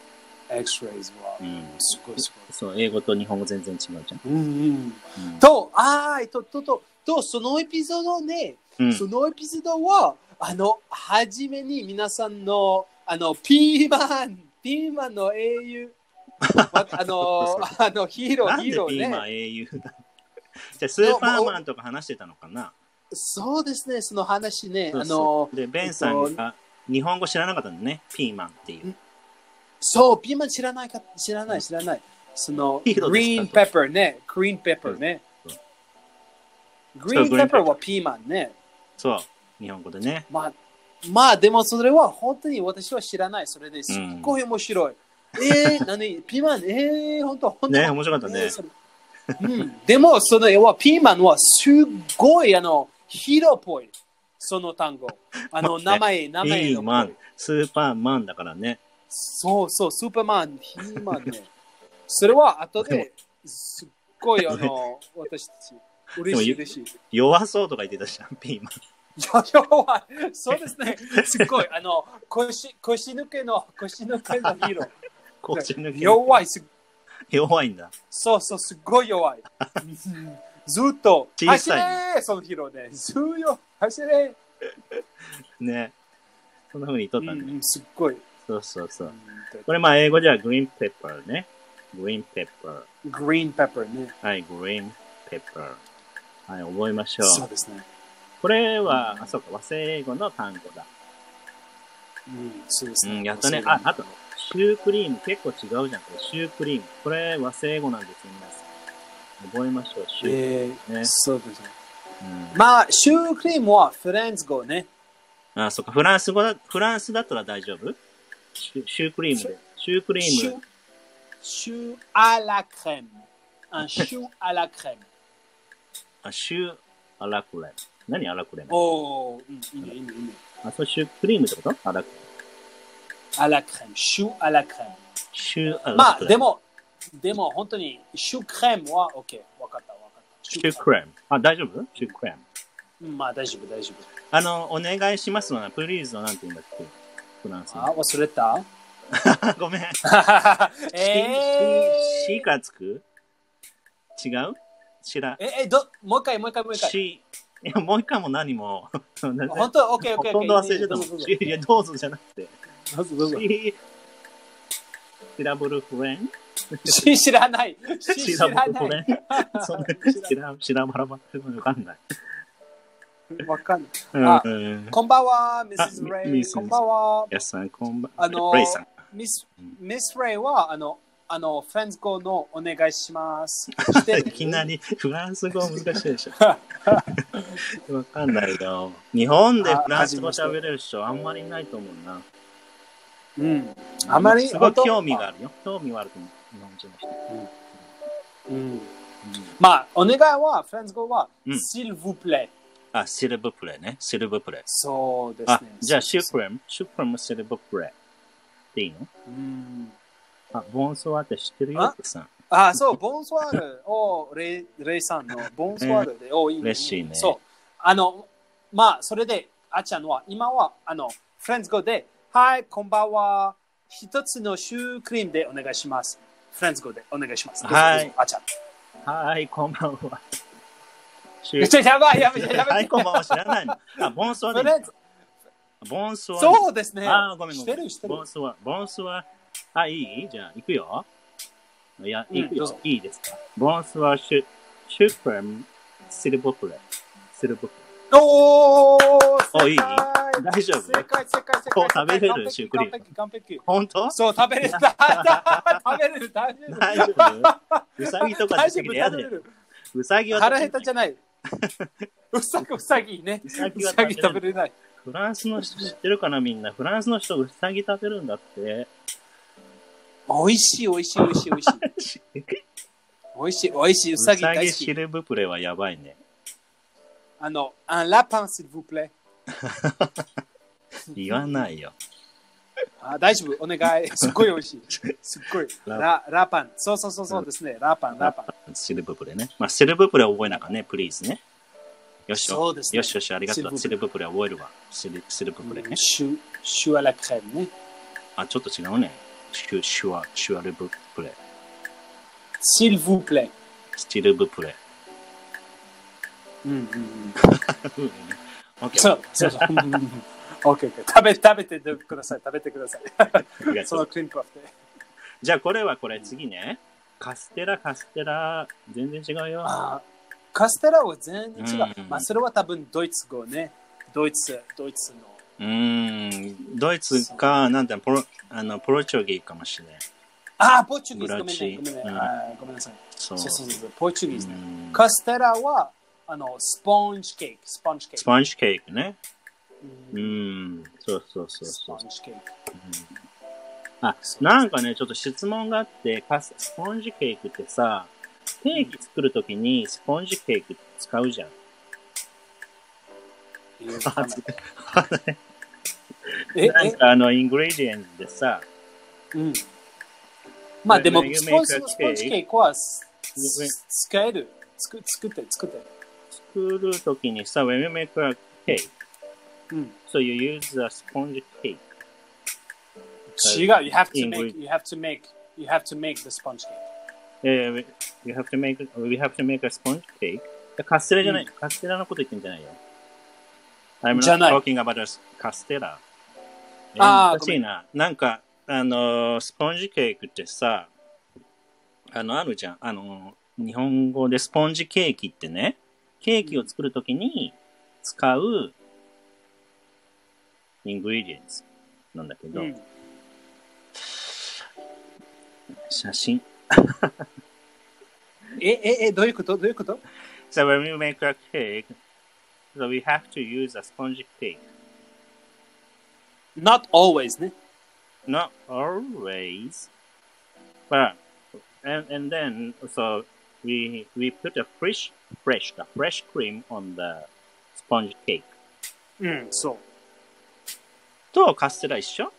X-rays は、うん、すごいすごい。
そう、英語と日本語全然違うじゃん。
うんうん。うん、と、あー、と、と、と、と、そのエピソードね、うん、そのエピソードは、あの、はじめに皆さんの、あの、ピーマン、ピーマンの英雄、あの、あの、ヒーロー、ヒーローね。
ピーマン英雄だ。じゃあ、スーパーマンとか話してたのかな
そうですね、その話ね。
そうそうあの、で、ベンさんが日本語知らなかったのね、ピーマンっていう。
そう、ピーマン知らないか、知らない、知らない。その、グリーンペッパーね、グリーンペッパーね。グリーンペッパーはピーマンね。
そう、日本語でね。
まあ、まあ、でもそれは本当に私は知らない。それですっごい面白い。うん、えー、何ピーマン、えー、本当、本当。
ね、面白かったね。えー
うん、でも、そのはピーマンはすっごい、あの、ヒーローっぽい。その単語。あの、名前、名前の。
ピーマン、スーパーマンだからね。
そうそう、スーパーマン、ヒーマンね。それは後ですっごい、あの、私たち、嬉しい、嬉しい。
弱そうとか言ってたじゃん、ピーマン。
弱い。そうですね。すっごい、あの、腰、腰抜けの、腰抜けのヒーロー。
腰抜け。
弱い、す
弱いんだ。
そうそう、すっごい弱い。ずっと、走れそのヒーローで。ずーよ、走れ
ね。そんな風に言っとったんだ、ね
うん、すっごい。
そうそうそう。これまあ英語じゃグリーンペッパーね。グリーンペッパー。
グリーンペッパーね。
はい、グリーンペッパー。はい、覚えましょう。
そうですね。
これは、うん、あ、そうか、和製英語の単語だ。
うん、そうですね。
うん、やったね。あ、あと、シュークリーム。結構違うじゃん。これシュークリーム。これ和製英語なんですよ、皆さん。覚えましょう。シュークリーム、ね。えー、
そうですね。うん、まあ、シュークリームはフランス語ね。
あ、そうか。フランス語だ、フランスだったら大丈夫シュ, シュークリームで。シュークリーム。
シューアラクレーム。あ、シューアラクレーム。
あ、シューアラクレーム。何アラクレーム
おー、うん、いいね、いいね、いいね。
あ、それシュークリームってことアラクレーム。
アラクレーム。シューアラクレーム。
シューアラクレーム。
まあ、でも、でも本当に、シュークレームは OK。わかった、わかった。
シュークレーム。あ、大丈夫シュークレーム。
うん、まあ、大丈夫、大丈夫。
あの、お願いしますのな、プリーズのなんて言うんだっけフランス
あ、忘れた
ごめん。
え
ー、シーからつく違う知ら
え、え、ど、もう一回、もう一回、もう一回。
シー、いや、もう一回も何も。
本当オッケー、オッケー、オッケー。
ほとんど忘れちゃったもん。いや、どうぞじゃなくて。
どうぞ、どうぞ。
シシラブルフレン
シ知らない。
シラブルフレンそんな、シラ、シラバラバわかんない。
わかんない。あ、こんばんは、ミセスレイ。こんばんは。
やさん、こんばん
は。あの、
レイさん。
ミス、ミスレイは、あの、あの、フランス語のお願いします。
いきなりフランス語難しいでしょ。わかんないよ。日本でフランス語喋れる人あんまりいないと思うな。
うん。あまり
すごい興味があるよ。興味はあると思う。日本人の人。
うん。うん。まあ、お願いは、フランス語は、s'il vous plaît。
あ、シルブプレね。シルブプレ。
そうですね。あ、
じゃあ、シュクレム、シュクレムシルブプレ。っていいの
うん。
あ、ボンソワーって知ってるよってさ。
あ、そう、ボンソワール。お、レイ、レイさんのボンソワールで、お、いいね。
嬉しいね。
そう。あの、まあ、それで、あちゃんは、今は、あの、フランス語で、はい、こんばんは。一つのシュークリームでお願いします。フランス語でお願いします。
はい。
あちゃん。
はい、こんばんは。
めっちゃやばい、やばい、やばい。
はい、こんばんは、知らないの。あ、ボンソワで。ボンソワ。
そうですね。
あ、ごめん、ごめん。
してる、してる。
ボンソワ。ボンソワ。あ、いいじゃあ、行くよ。いや、行くよ。いいですか。ボンソワ、シュ、シュクレム、シルブプレ。シルブプレ。
おー、
お、いい大丈夫
正解、正解、正解。
こう食べれるシュークリーム。
完璧、完璧。
本当？
そう、食べれる。食べれる、大丈夫。
大丈夫？うさぎとか出てきてやで。うさぎは
腹減ったじゃない。うさぎ、うさぎね。
うさぎは
食べれない。
フランスの人知ってるかなみんな。フランスの人うさぎ食べるんだって。
おいしい、おいしい、おいしい、おいしい。おいしい、おいしい、うさぎ大好き。
うさぎシルブプレはやばいね。
あの、un lapin, s'il vous plaît。
言わないよ。
あ、大丈夫、お願い。すっごいおいしい。すっごい。ラ、ラパン。そうそうそうそうですね。ラパン、ラパン。
シルブプレね。まあ、シルブプレ覚えなかね、プリーズね。よし
そうですね。
よしよし、ありがとう。シルブプレ覚えるわ。シルシルブプレね。
シュ、シュアラクレームね。
あ、ちょっと違うね。シュ、シュア、シュアルブプレ。
s'il vous plaît。
シルブプレ。
うんうんうん。そうそうそう。オッケーオッケー。食べ、食べてください。食べてください。そのクリームパフで。
じゃあこれはこれ次ね。カステラ、カステラ、全然違うよ。
あカステラは全然違う。うん、まあそれは多分ドイツ語ね。ドイツ、ドイツの。
うーん、ドイツか、なんだろう、ポロ、あの、ポルチョギーかもしれない。
ああ、ポルチョギーズ、ごめんね、ごめんね、うん、あごめんなさい。そうそうそうそう、ポルチョギーズね。カステラは、あの、スポンジケーキ、スポンジケーキ。
スポンジケーキね。うん、うんそうそうそうそう。スポンジケーキ。うん、あ、なんかね、ちょっと質問があって、スポンジケーキってさ、ケーキ作るときにスポンジケーキ使うじゃん。えなんかあの、イングレディエンツでさ、
うん。まあでも、スポンジケーキは使える。作って、作って。
作るときにさ、when you make a cake,
うん、
so you use a sponge cake.
違う、you have to make, you have to make, you have to make the sponge cake.
Yeah, you have to make, we have to make a sponge cake. カステラじゃない、うん、カステラのこと言ってんじゃないよ。I'm not talking about a カステラ。ああ、難しいな。なんか、あの、スポンジケーキってさ、あの、あるじゃん。あの、日本語でスポンジケーキってね、ケーキを作るときに使うイングリディエンツなんだけど、うん、写真。
え、え、え、どういうことどういうこと
So when we make a cake, so we have to use a sponge cake.
Not always, ね。
Not always. But, and, and then, so we, we put a fresh, fresh, a fresh cream on the sponge cake.
うん、そう。
と、カステラ一緒？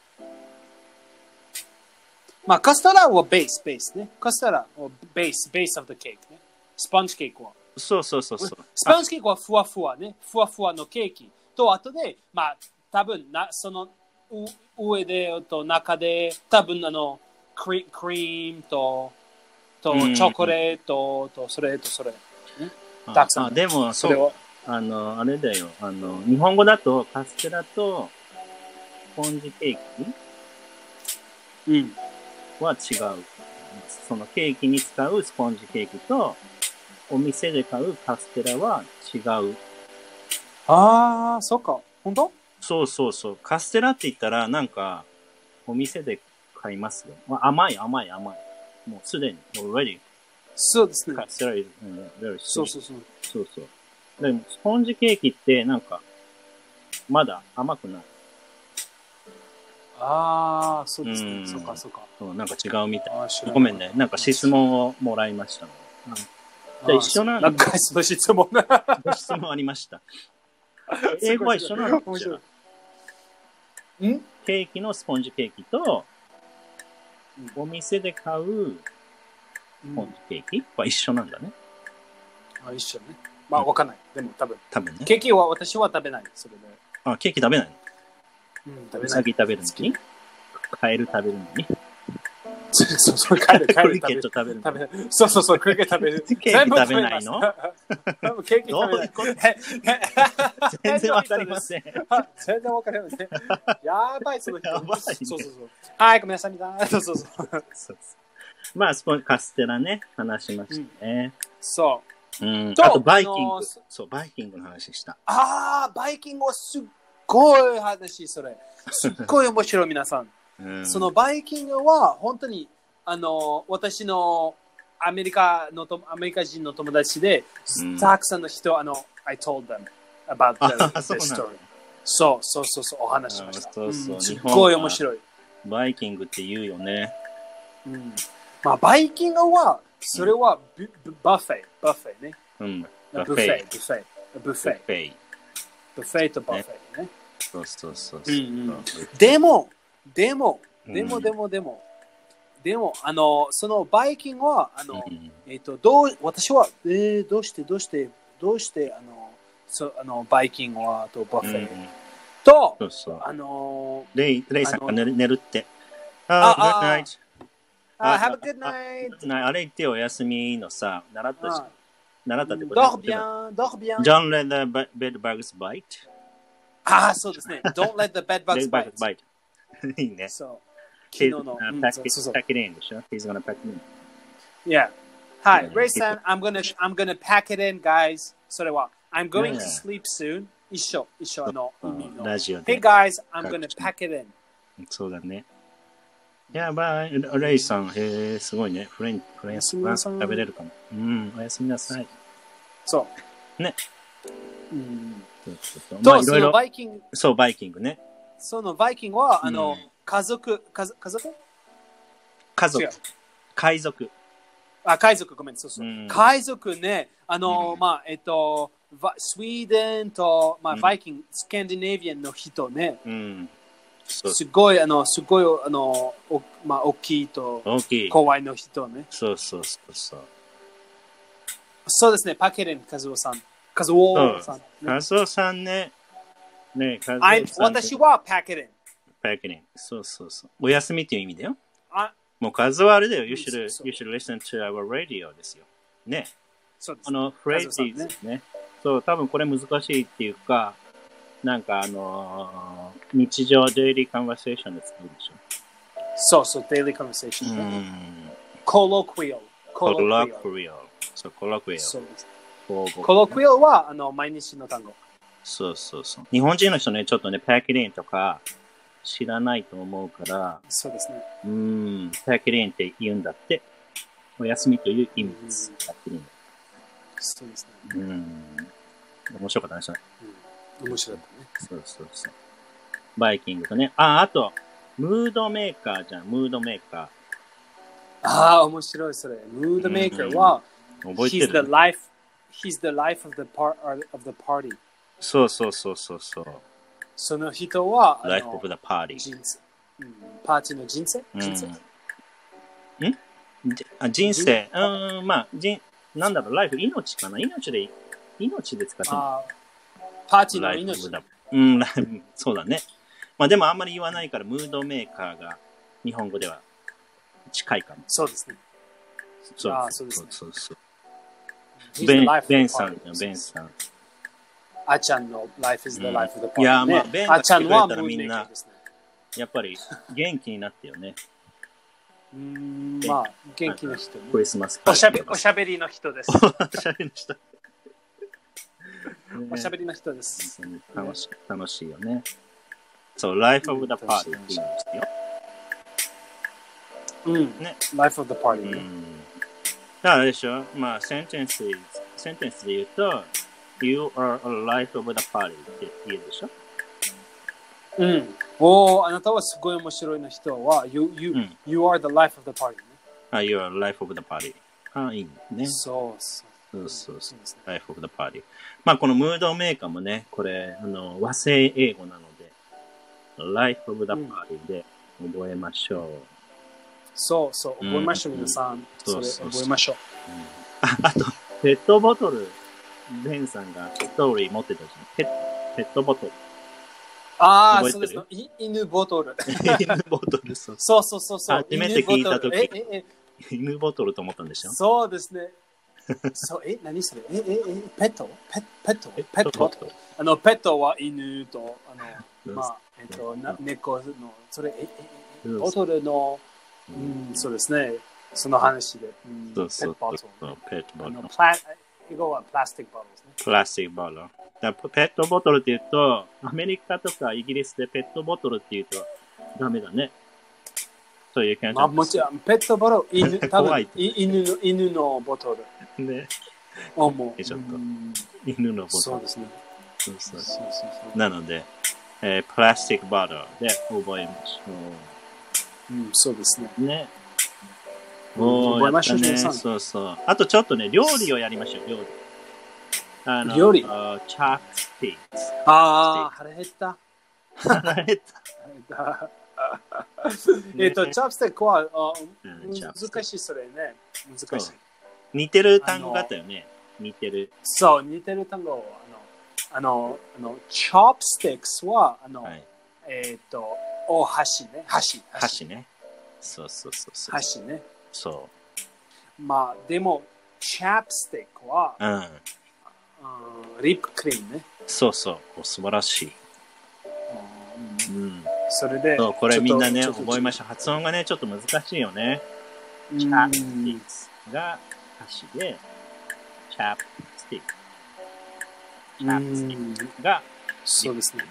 まあ、カステラはベース、ベースね。カステラはベース、ベース of the cake ね。スポンジケーキは。
そうそうそうそう。
スポンジケーキはふわふわね。ふわふわのケーキと、あとで、まあ、多分な、その、上でと中で、多分あの、クリクリームと、と、チョコレートと、それとそれ。ね、
たくさん。あ、でも、そう。あの、あれだよ。あの、日本語だとカステラとスポンジケーキ、
うん、
は違う。そのケーキに使うスポンジケーキと、お店で買うカステラは違う。
ああ、そっか。本当？
そうそうそう。カステラって言ったら、なんか、お店で買いますよ。甘い甘い甘い。もうすでに、already。
そうですね。
カステラ is very sweet。
そうそうそう。
そうそう。でも、スポンジケーキって、なんか、まだ甘くない。
ああ、そうですね。そうか、そうか。
そう、なんか違うみたい。ごめんね。なんか質問をもらいましたの。うん、じゃあ一緒なんだ。
なんかその質問が。
質問ありました。英語は一緒なの？面白い。ん？ケーキのスポンジケーキと、お店で買うスポンジケーキは一緒なんだね。
あ、一緒ね。まあ、わかんない。でも多分。
多分ね。
ケーキは私は食べない。それで。
あ、ケーキ食べないの？
うん、食べない。
うさぎ食べるのに？カエル食べるのに？
そうそう、カエル、カエル
食べる。食べる。
食べる。そうそうそう、クリケット食べる。
ケーキ食べないの？
ケーキ食べない。
全然わかりません。
全然わかりません。やばい、その人。
やばい、ね。
そうそうそう。はい、ごめんなさい、みたいな。そうそうそう。そうそう
まあ、スポンカステラね、話しましたね。
うん、そう。
うん。あと、バイキング。そう、バイキングの話した。
ああ、バイキングはすっごい話、それ。すっごい面白い、皆さん。
うん、
そのバイキングは、本当に、あの、私のアメリカのと、アメリカ人の友達で、
うん、
たくさんの人、あの、I told them about the, the story. そうそうそうそう、お話しました。
そうそう、うん、
すっごい面白い。
バイキングって言うよね。
うん。まあ、バイキングは、それはビ、うん、バフェ、バフェね。
うん。
バフェ、バフェ、バフェ。
バフェ。
バフェとバフェね。ね
そうそうそう
そう、うんうん。でも、でも、でも、でも、でも、でも、あの、そのバイキングは、あの、うん、えっ、ー、と、どう、私は、えー、どうして、どうして、どうして、あの、そあのバイキングは、とバフェ、うん、と、
そうそう、
あの、
レイ、レイさんが寝る、寝るって。
ああ、あ、Have a good night。
あれ言ってお休みのさ、習ったし、習ったってこと
Dors bien, dors bien.
Don't let the bed bugs bite.
ああ、そうですね。Don't let the bed bugs bite.
いいね。
そう。昨日の。
pack it in でしょ ?He's gonna pack it in.
Yeah. はい。Ray さん、I'm gonna, I'm gonna pack it in, guys. それは、I'm going to sleep soon. 一緒、一緒、あの、
ラジオで。
Hey, guys, I'm gonna pack it in.
そうだね。やばい。レイさん、へえ、すごいね。フレンチ、フレンチ食べれるかな。うん、おやすみなさい。
そう。
ね。
うん。
そう、その
バイキング。
そう、バイキングね。
そのバイキングは、あの、家族、家族家族
家族。海賊。
あ、海賊、ごめん、そうそう。海賊ね、あの、まあ、えっと、スウェーデンと、まあ、バイキング、スキャンディネビアンの人ね。うん。すごい、あの、すごい、あの、おまあ、大きいと、
大きい。
怖いの人ね。
そうそうそうそう。
そうですね、パケレン、カズオさん。カズオさん。
カズオさんね。ね、カズオさん。
私はパケレン。
パケレン。そうそうそう。お休みっていう意味だよ。あもうカズオあれだよ。You should, you should listen to our radio ですよ。ね。
そうです。
あの、フレーズですね。そう、多分これ難しいっていうか、なんかあのー、日常デイリーカンバセーションで使うでしょ。
そうそう、デイリーカンバセーション、ね。コロクイオ。
コロクイオ。そう、コロクイオ。
そうです。コロクイオはあの毎日の単語。
そうそうそう。日本人の人ね、ちょっとね、パキリンとか知らないと思うから、
そうですね。
うん、パキリンって言うんだって。お休みという意味です。パキリン。
そうですね。
うん。面白かったね、それ。
面白かったね。
そうそうそう。バイキングとね。あ、あと、ムードメーカーじゃん、ムードメーカー。
ああ、面白い、それ。ムードメーカーは、
うんうん、覚えてる
he's the life, he's the life of the, par, of the party.
そうそうそうそうそう。
その人は、
life of the party.
人生、うん。パーティーの人生、
うん、
人生
んあ人生。うん、まあ、人、なんだろう、ライフ、命かな命で、命で使ってる。
パーティーの命。
うん、そうだね。まあでもあんまり言わないから、ムードメーカーが日本語では近いかも。
そうですね。
そう
あそうですね。
そうそう。ベン、ベンさんだよ、ベンさん。
あちゃんの Life is the life of the party、
いや、まあ、ベンが来てくれたらみんな、
ね、
やっぱり元気になってよね。
うん、まあ、元気な人、ね。
クリスマス
おしゃべおしゃべりの人です。
おしゃべりの人。
おしゃべりの人です。
楽しい、楽しいよね。そう、Life of the Party って言うんですよ。
うん。ね。Life of the Party、ね。うん。
だからあれでしょまあ、センテンス、センテンスで言うと、You are a life of the party って言うでしょ
うん。おー、あなたはすごい面白いな人は、You, you,、うん、you are the life of the party、ね。
あ、You are the life of the party。あ、いいね。
そうそう。
そうそうそう。Life of the party。まあ、このムードメーカーもね、これ、あの、和製英語なので、Life of the party で覚えましょう。うん、
そうそう、覚えましょう、うん、皆さん。それ覚えましょう。
うん、あ、あと、ペットボトル。ベンさんがストーリー持ってたじゃん。ペッペットボトル。
ああ、そうです。犬ボトル。
犬ボトル、そう。
そうそうそうそう。
初めて聞いたとき、犬ボトルと思ったんでしょ
そうですね。そう、え、何それえ、え、え、ペットペペットペットあの、ペットは犬と、あの、まあ、えっと、な猫の、それ、え、え、ボトルの、うん、そうですね。その話で。
そうそう。ペットボトル。
プラ英語はプラスティックボトルですね。
プラスティックボトル。だからペットボトルって言うと、アメリカとかイギリスでペットボトルって言うとダメだね。そういう感じ。
まあもちろん、ペットボトル、犬、多分犬の、犬のボトル。
ね。
おも
ちょっと、犬のボトル。
そうですね。
そうそう
そうそうそう。
なので、えー、プラスティックボトルで覚えましょ
う。うん、そうですね。
ね。おー、覚えましょうね。そうそう。あとちょっとね、料理をやりましょう、料理。あの
料理
あチャップスティック。
ああ、腹減った。
腹減った。
えっと、チャップスティックは、あ難しい、それね。難しい。
似てる単語があったよね。似てる。
そう、似てる単語。あの、あの、あのチョップスティックスは、あの、はい、えっ、ー、と、お箸ね。箸。
箸ね。そうそうそうそう。
箸ね。
そう。
まあ、でも、チャップスティックは、
うん。
うん、リップクリームね。
そうそう。お素晴らしい。
うん。うん、それで、
そう、これみんなね、覚えましょう。発音がね、ちょっと難しいよね。チャップスティックが箸で、チャップスティック。チャップスティックが、
そうですね。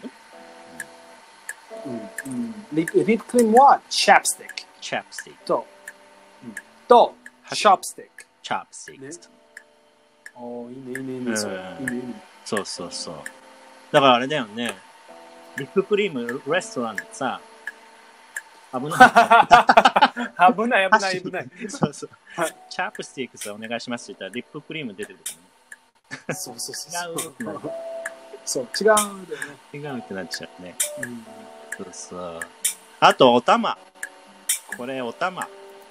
うんうん、リップクリームはチャップスティック。
チャップスティック。
と、うん、と、チョップスティック。
チャップスティック。ね、
おー、いいね、いいね、いいね、うん、そういいね、いいね。
そうそうそう。だからあれだよね。リップクリーム、レストランでさ、危ない。
危ない、危ない、危ない。
そうそう。チャップスティックスお願いしますって言ったら、リップクリーム出てくるね。
そうそうそう。
違う。
そう、違うんだよね。
違うってなっちゃうね。うん、そうそう。あと、お玉。これ、お玉。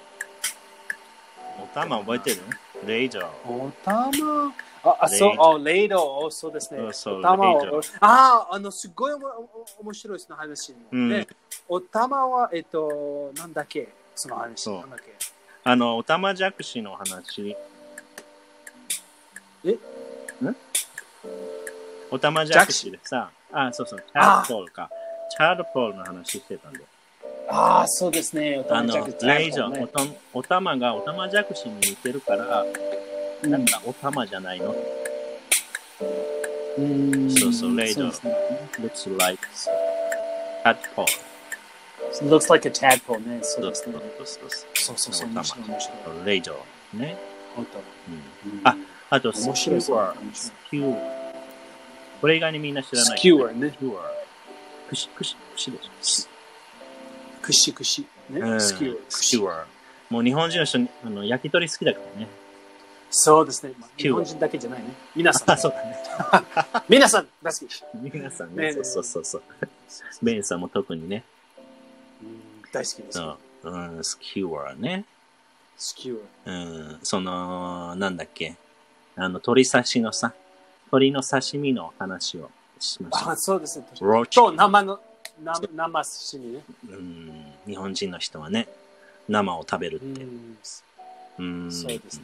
お玉覚えてる？レイジョー。
お玉あ、あそう、あ、レイド、そうですね。
そうそう、
お玉を、あ、あの、すごいおも面白いその話、ね。うん、お玉は、えっと、なんだっけその話。なんだっけ
あの、お玉じゃくしの話。
えん
お玉じゃくしでさ、あ、そうそう、チャールポールか。チャールポールの話してたんで。
ああ、そうですね。
あの、レイジョー、お玉がお玉じゃくしに似てるから、うん、なんかお玉じゃないの。
うん、
そうそう、レイジョー。looks like tadpole.
looks like a tadpole ね。そうですね。
そうそうそう。
面白い面白い。
レイジョーね。
お玉。
うん、あ、あと、スキューワー。スキューワー。これ以外にみんな知らない。
スキューワーね。
スキューワー。くし、くし、くしでしょ。
くしくし。ね。
うん、スキューワー。スキューワー。もう日本人の人、あの焼き鳥好きだからね。
そうですね。日本人だけじゃないね。皆さん。
あ、そうだね。
皆さん、大好き。
皆さんね。そうそうそうそう。ベンさんも特にね。
うん、大好きです。
うん、スキューワーね。
スキューワ
ー。うん、その、なんだっけ。あの、鳥刺しのさ、鳥の刺身の話をしました。
あ、そうですね。
ローチ。
と、生の、生刺身ね。
うん、日本人の人はね、生を食べるって。うん
うん、そうですね。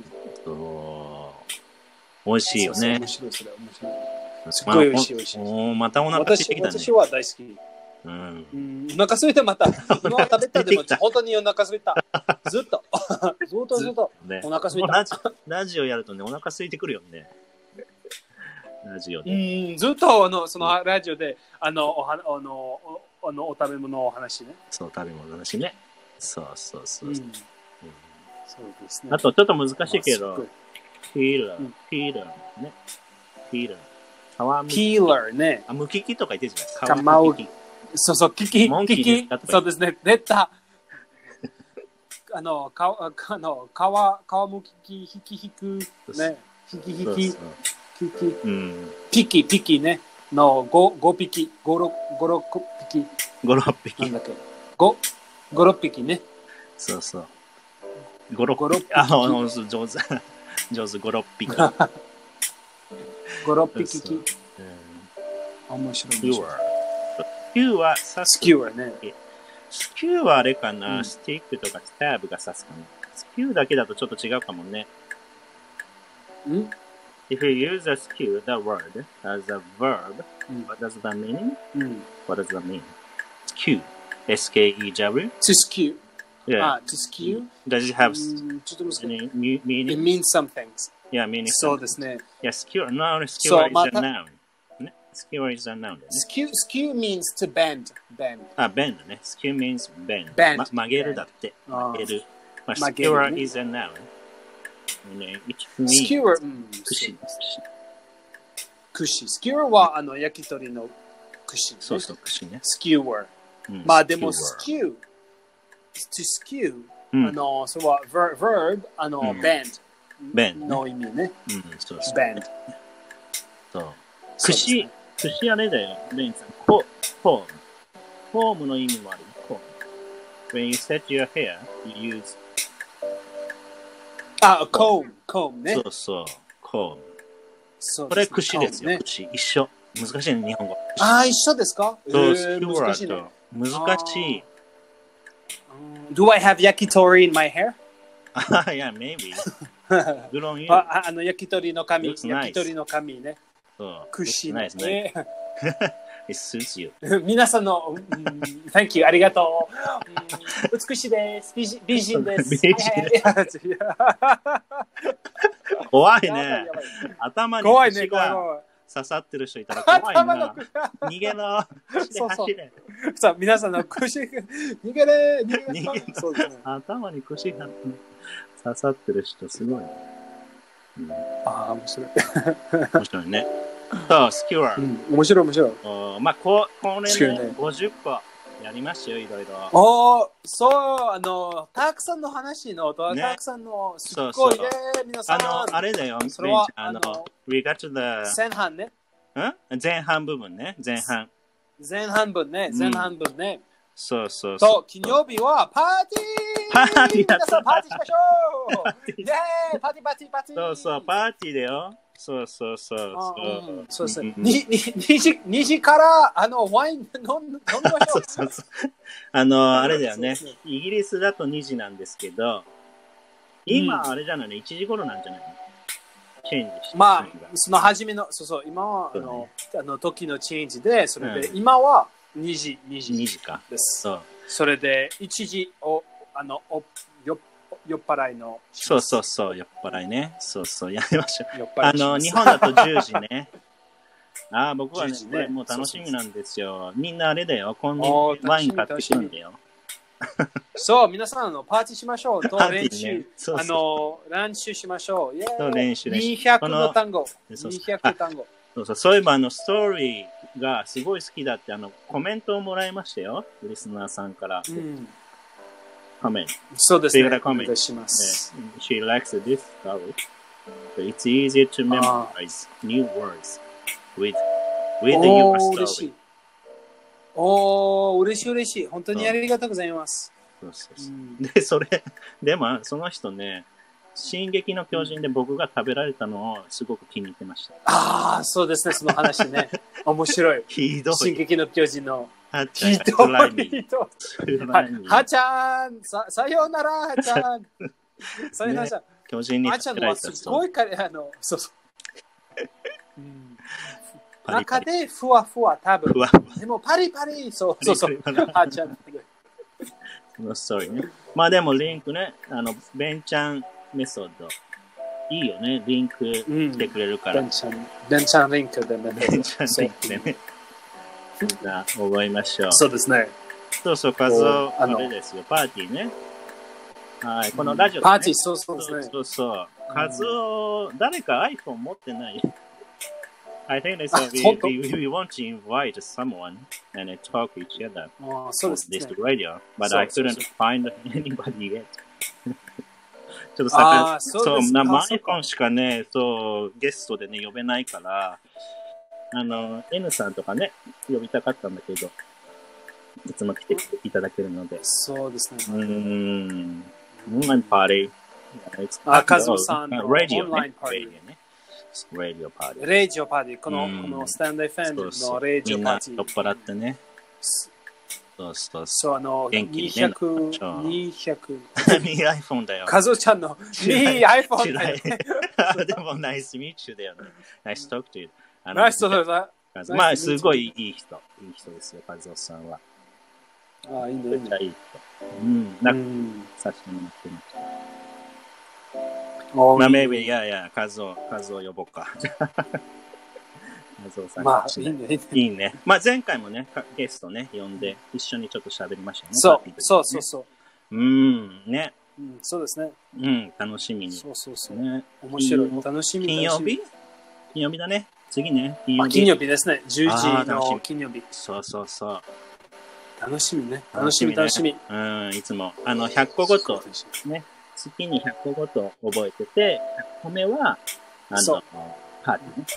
そう美味しいよね。
面白い、それ面白い。すっごい美味しい、美味しい。
おまたお腹空いてきたね。
私は大好き。
うん。
うん、お腹空いてまた。今は食べたでも、本当にお腹空いた。ずっと。ずっとずっと。お腹空いた。
ラジ, ラジオやるとね、お腹空いてくるよね。ラジオで。
うん、ずっとあのそのラジオで、あの、おはあの、おあのお食べ物の話ね。
そう、食べ物の話ね。そうそうそう。うん
そうですね。
あと、ちょっと難しいけど、ピーラー、ピーラーね。ピーラー。
ピーラーね。
あ、むききとか言ってるじゃないですか。皮むきき。
そうそう、きき、きき。そうですね。出た。あの、か、あの、皮、皮むきき、ひきひく、ね。ひきひき、ひき。うん。ピキ、ピキね。の、ご、ごぴき、ご、ろく、ご、ろくぴき。
ご、ろっぴき。
なんだっけ。ご、ご、ろっぴきね。
そうそう。ご、ろっぴき。あ、上手。上手、ご、ろっぴき。
ご、ろっぴき。面白い。
スキューワー。スキューワー、
スキューワーね。
スキューはあれかな、うん、スティックとかスターブが刺すかな。スキューだけだとちょっと違うかもね。
ん
If you use a skew, the word, as a verb,
うん、
what does that mean?、
うん、
what does that mean? Skew. S K E W?
To skew.Yeah. Ah, to skew?
Does it have
um,
any meaning?
It means some things.
Yeah, meaning
そうですね。
Yeah, skewer. No, skewer
そう、
is
ま
a
た、
noun. ね Skewer is a noun だよね。
skew, skew means to bend. bend.
あ、bend ね。skew means bend.
bend.
ま、曲げるだって。
あ
曲げる。まあ、
曲げる
skewer
ね
is a noun. ね、it means
skewer, うん、
串。
串。skewer はあの焼き鳥の串、ね。
そうそう、串ね。
skewer。
うん、
まあでも
skewer
skew, to skew、
うん、
あの、それは ver, verb、あの、
うん、
bend
bend
の意味ね。
うん、そうそう。
bend。
そう。串、串あれだよ、レインさん。フォーム。フォームの意味もある。フォーム。When you set your hair, you use
あ、comb、comb ね。
そうそう、comb。
そう
これ串ですよ、
ね、
串。一緒。難しいね、日本語。
ああ、一緒ですか？
そう、
え
スキュ
ー、
ワ
難しいね。
ーと。難しい。
Do I have yakitori in my hair?
Yeah, maybe. Good on you.
ああの焼き鳥の髪、
Looks nice.
焼き鳥の髪ね。
そう。
串ね。
Nice, nice. It suits you.
皆さんの、うん、Thank you、ありがとう。うん、美しいです。美人美人です。
美人です。怖いね。頭に串が刺さってる人いたら怖いな。逃げろ。
そうそう。さあ、皆さんの串、逃げれ、逃げれ。
逃げろ。
そうですね。
頭に串が刺さってる人すごいね。うん、
ああ、面白い。
面白いね。そう、スキュワー。
うん、面白い面白い。
おまあ、ここれね、ごじゅっこやりましたよ、いろいろ。
おー、そう、あの、たくさんの話の、たくさんの、すっごいね、皆さん。
あの、あれだよ、
それは、
あの、we got to the
前半ね。
ん前半部分ね、前半。
前半分ね、前半分ね。
そうそうそう。
と、金曜日はパーティー
パーティー
皆さんパーティーしましょうイェーイパーティーパーティーパーティー
そうそう、パーティーだよ。そうそうそう。
そうそうそう。にじからあのワイン飲ん飲みましょう。そうそう
あの、あれだよね。イギリスだとにじなんですけど、今あれじゃないの、いちじ頃なんじゃないのチェンジして。
まあ、その初めの、そうそう、今はあの、あの時のチェンジで、それで今はにじ、にじ。
にじか。
です。
そう。
それでいちじを、あの、およ酔っ払いの。
そうそうそう、酔っ払いね。そうそう、やりましょう。あの、日本だとじゅうじね。ああ、僕はね、これもう楽しみなんですよ。みんなあれだよ、こんにワイン買ってくるんだよ。
そう、皆さんのパーティーしましょう。と練習、
ね、そうそう
あの、練習しましょう。イェーイ
そう練習練習
にひゃくの単語。にひゃく単語。
そうそう、そういえばあの、ストーリーがすごい好きだって、あの、コメントをもらいましたよ。リスナーさんから。うん、コメント。
そうですね。
コメント
します。
She likes this story. It's easy to memorize new words with, with your story.
おー、嬉しい嬉しい。本当にありがとうございます。
そうそうそう。うん、で、それ、でも、その人ね、進撃の巨人で僕が食べられたのをすごく気に入ってました。
ああ、そうですね、その話ね。面白い。
ひどい。
進撃の巨人の。
はっちゃん、
ひどい。はちゃん、さ、さようなら、はちゃん。さようなら。
巨人に
食べられた人。はちゃんのはすごいかれ、あの、そうそう。うん中でふわふわ多分。でもパリパリ、そうそうそう。あちゃん。
そのストーリーね。まあでもリンクね、あの、ベンチャンメソッド。いいよね、リンクしてくれるから。
ベンチャン、ベンチャンリンクでね。
ベンチャンリンクでね。じゃあ、覚えましょう。
そうですね。
そうそう、カズオ、あれですよ、パーティーね。はい、このラジオ、ね。
パーティー、そうそうですね。
そうそう。カズオ、誰か iPhone 持ってないI think they said we, we, we want to invite someone and then talk to each other on this radio, but I couldn't find anybody yet. ちょっとさ、そう、生 iPhone しかね、そう、ゲストでね、呼べないから、あの、N さんとかね、呼びたかったんだけど、いつも来ていただけるので。
そうですね。
うーん。オンラインパーティー。
あ、カズオさんのオンライン
パーティーね。レディオパーティー。
レディオパーティー。この、このスタンド エフエム のレディオパーティー。
みんな酔っ払ってね。そうそう
そう。あの、にひゃく、にひゃく。
に iPhone だよ。
カズオちゃんのに iPhone だよ。
でも、ナイスミーチューだよね。ナイストークという。
ナイストークだ。
まあ、すごいいい人。いい人ですよ、カズオさんは。
ああ、いいね。
めっちゃいい人。うん。なんか、させてもらってました。 まあ、maybe、いやいや、カズオ、カズオ呼ぼうか。カズオさん。
まあ、いいね。
いいね。まあ、前回もね、ゲストね、呼んで、一緒にちょっと喋りましたね。
そう、そうそうそう。
うん、ね。
うん、そうですね。
うん、楽しみに。
そうそうそう。ね、面白い。楽しみ。
金曜日金曜日だね。次ね。
金曜日。金曜日ですね。じゅうじの金曜日。
そうそうそう。
楽しみね。楽しみ、楽しみ。
うん、いつも。あの、ひゃっこごと、ね。月にひゃっこごと覚えてて、ひゃっこめは、あの、パーティーね。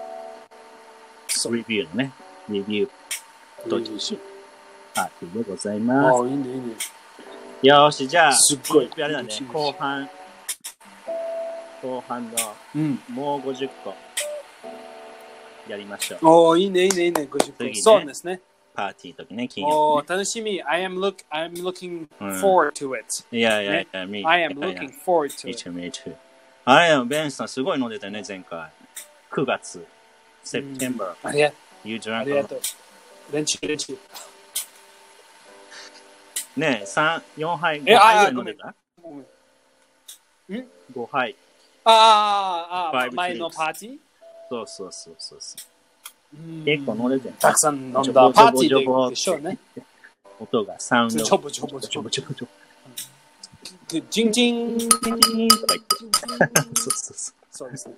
レビューのね。レビューと実施パーティーでございます。
ああ、いいね、いいね。
よし、じゃあ、
すっごい。
あれだね、後半、後半の、うん、もうごじゅっこ、やりましょう。
おー、いいね、いいね、いいね、ごじゅっこ。ね、そうですね。
パーティーの時ね、金曜日、ね。お
ー、楽しみ。I am, look, I am looking forward to it.、
うん、いやいやいや、me.
I am looking forward to
it. Me too, me too. あれ、ベンさんすごい飲んでたね、前回。くがつ、September.
ありがとう。
You drank
ありがとう。練習、練習。
ねえ、三、四杯、ご杯ぐらい飲んでた？ごめん。ん？ご杯。
ああ、ああ、前のパーティー？
そうそうそうそう。結構飲んでて。
たくさん飲んだパーティーでしょうね。
音がサウンド。
ちょぼちょぼちょぼちょぼちょぼ。ジンジン
とか言って。そうそうそう。
そうですね。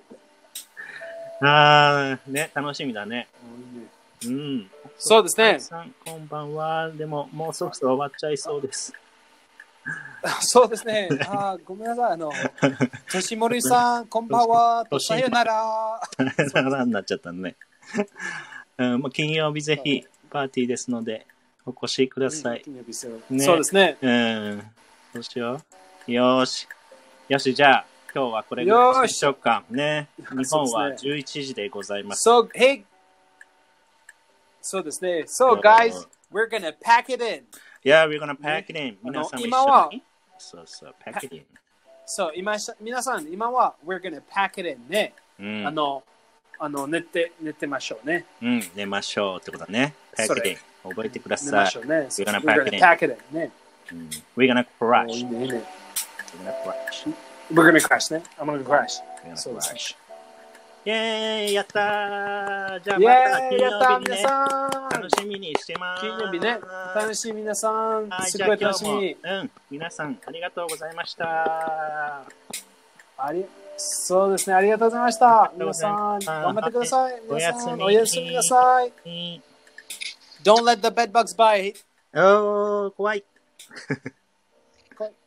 ああ、ね、楽しみだね。うん。
そうですね。
さん、こんばんは。でも、もうそろそろ終わっちゃいそうです。
そうですね。あ、ごめんなさい。あの、としもりさん、こんばんは。さよなら。
さよならになっちゃったね。うん、もう金曜日ぜひパーティーですので、お越しください。
うんね、そうですね。
うん。どうしよう。よし。よし、じゃあ、今日はこれぐらいにしようか。ね。日本はじゅういちじでございます。
So, hey! そうですね。So, guys, we're gonna pack it in.
Yeah, we're gonna pack it in. 皆さんも一緒に。そうそう、pack it in.
そう、今、皆さん、今は、we're gonna pack it in ね。うん、あの、あの、寝て、寝てましょうね。
うん、寝ましょうってことだね。pack it in. 覚えてください。寝
ましょうね。
We're gonna pack it in.
pack it in ね。
うん、we're gonna crash.
いいね、いいね。
We're gonna crash.
We're gonna crash ね。I'm gonna crash.
We're gonna crash. イェーイやったーじゃあまた金曜日にね、楽しみにしてます。
金曜日ね、楽しみ皆さん。すごい楽しみ。
うん、皆さんありがとうございました。
あり、そうですね、ありがとうございました。皆さん、頑張ってください。皆さん、おやすみなさい。Don't let the bed bugs bite.
おー、怖い。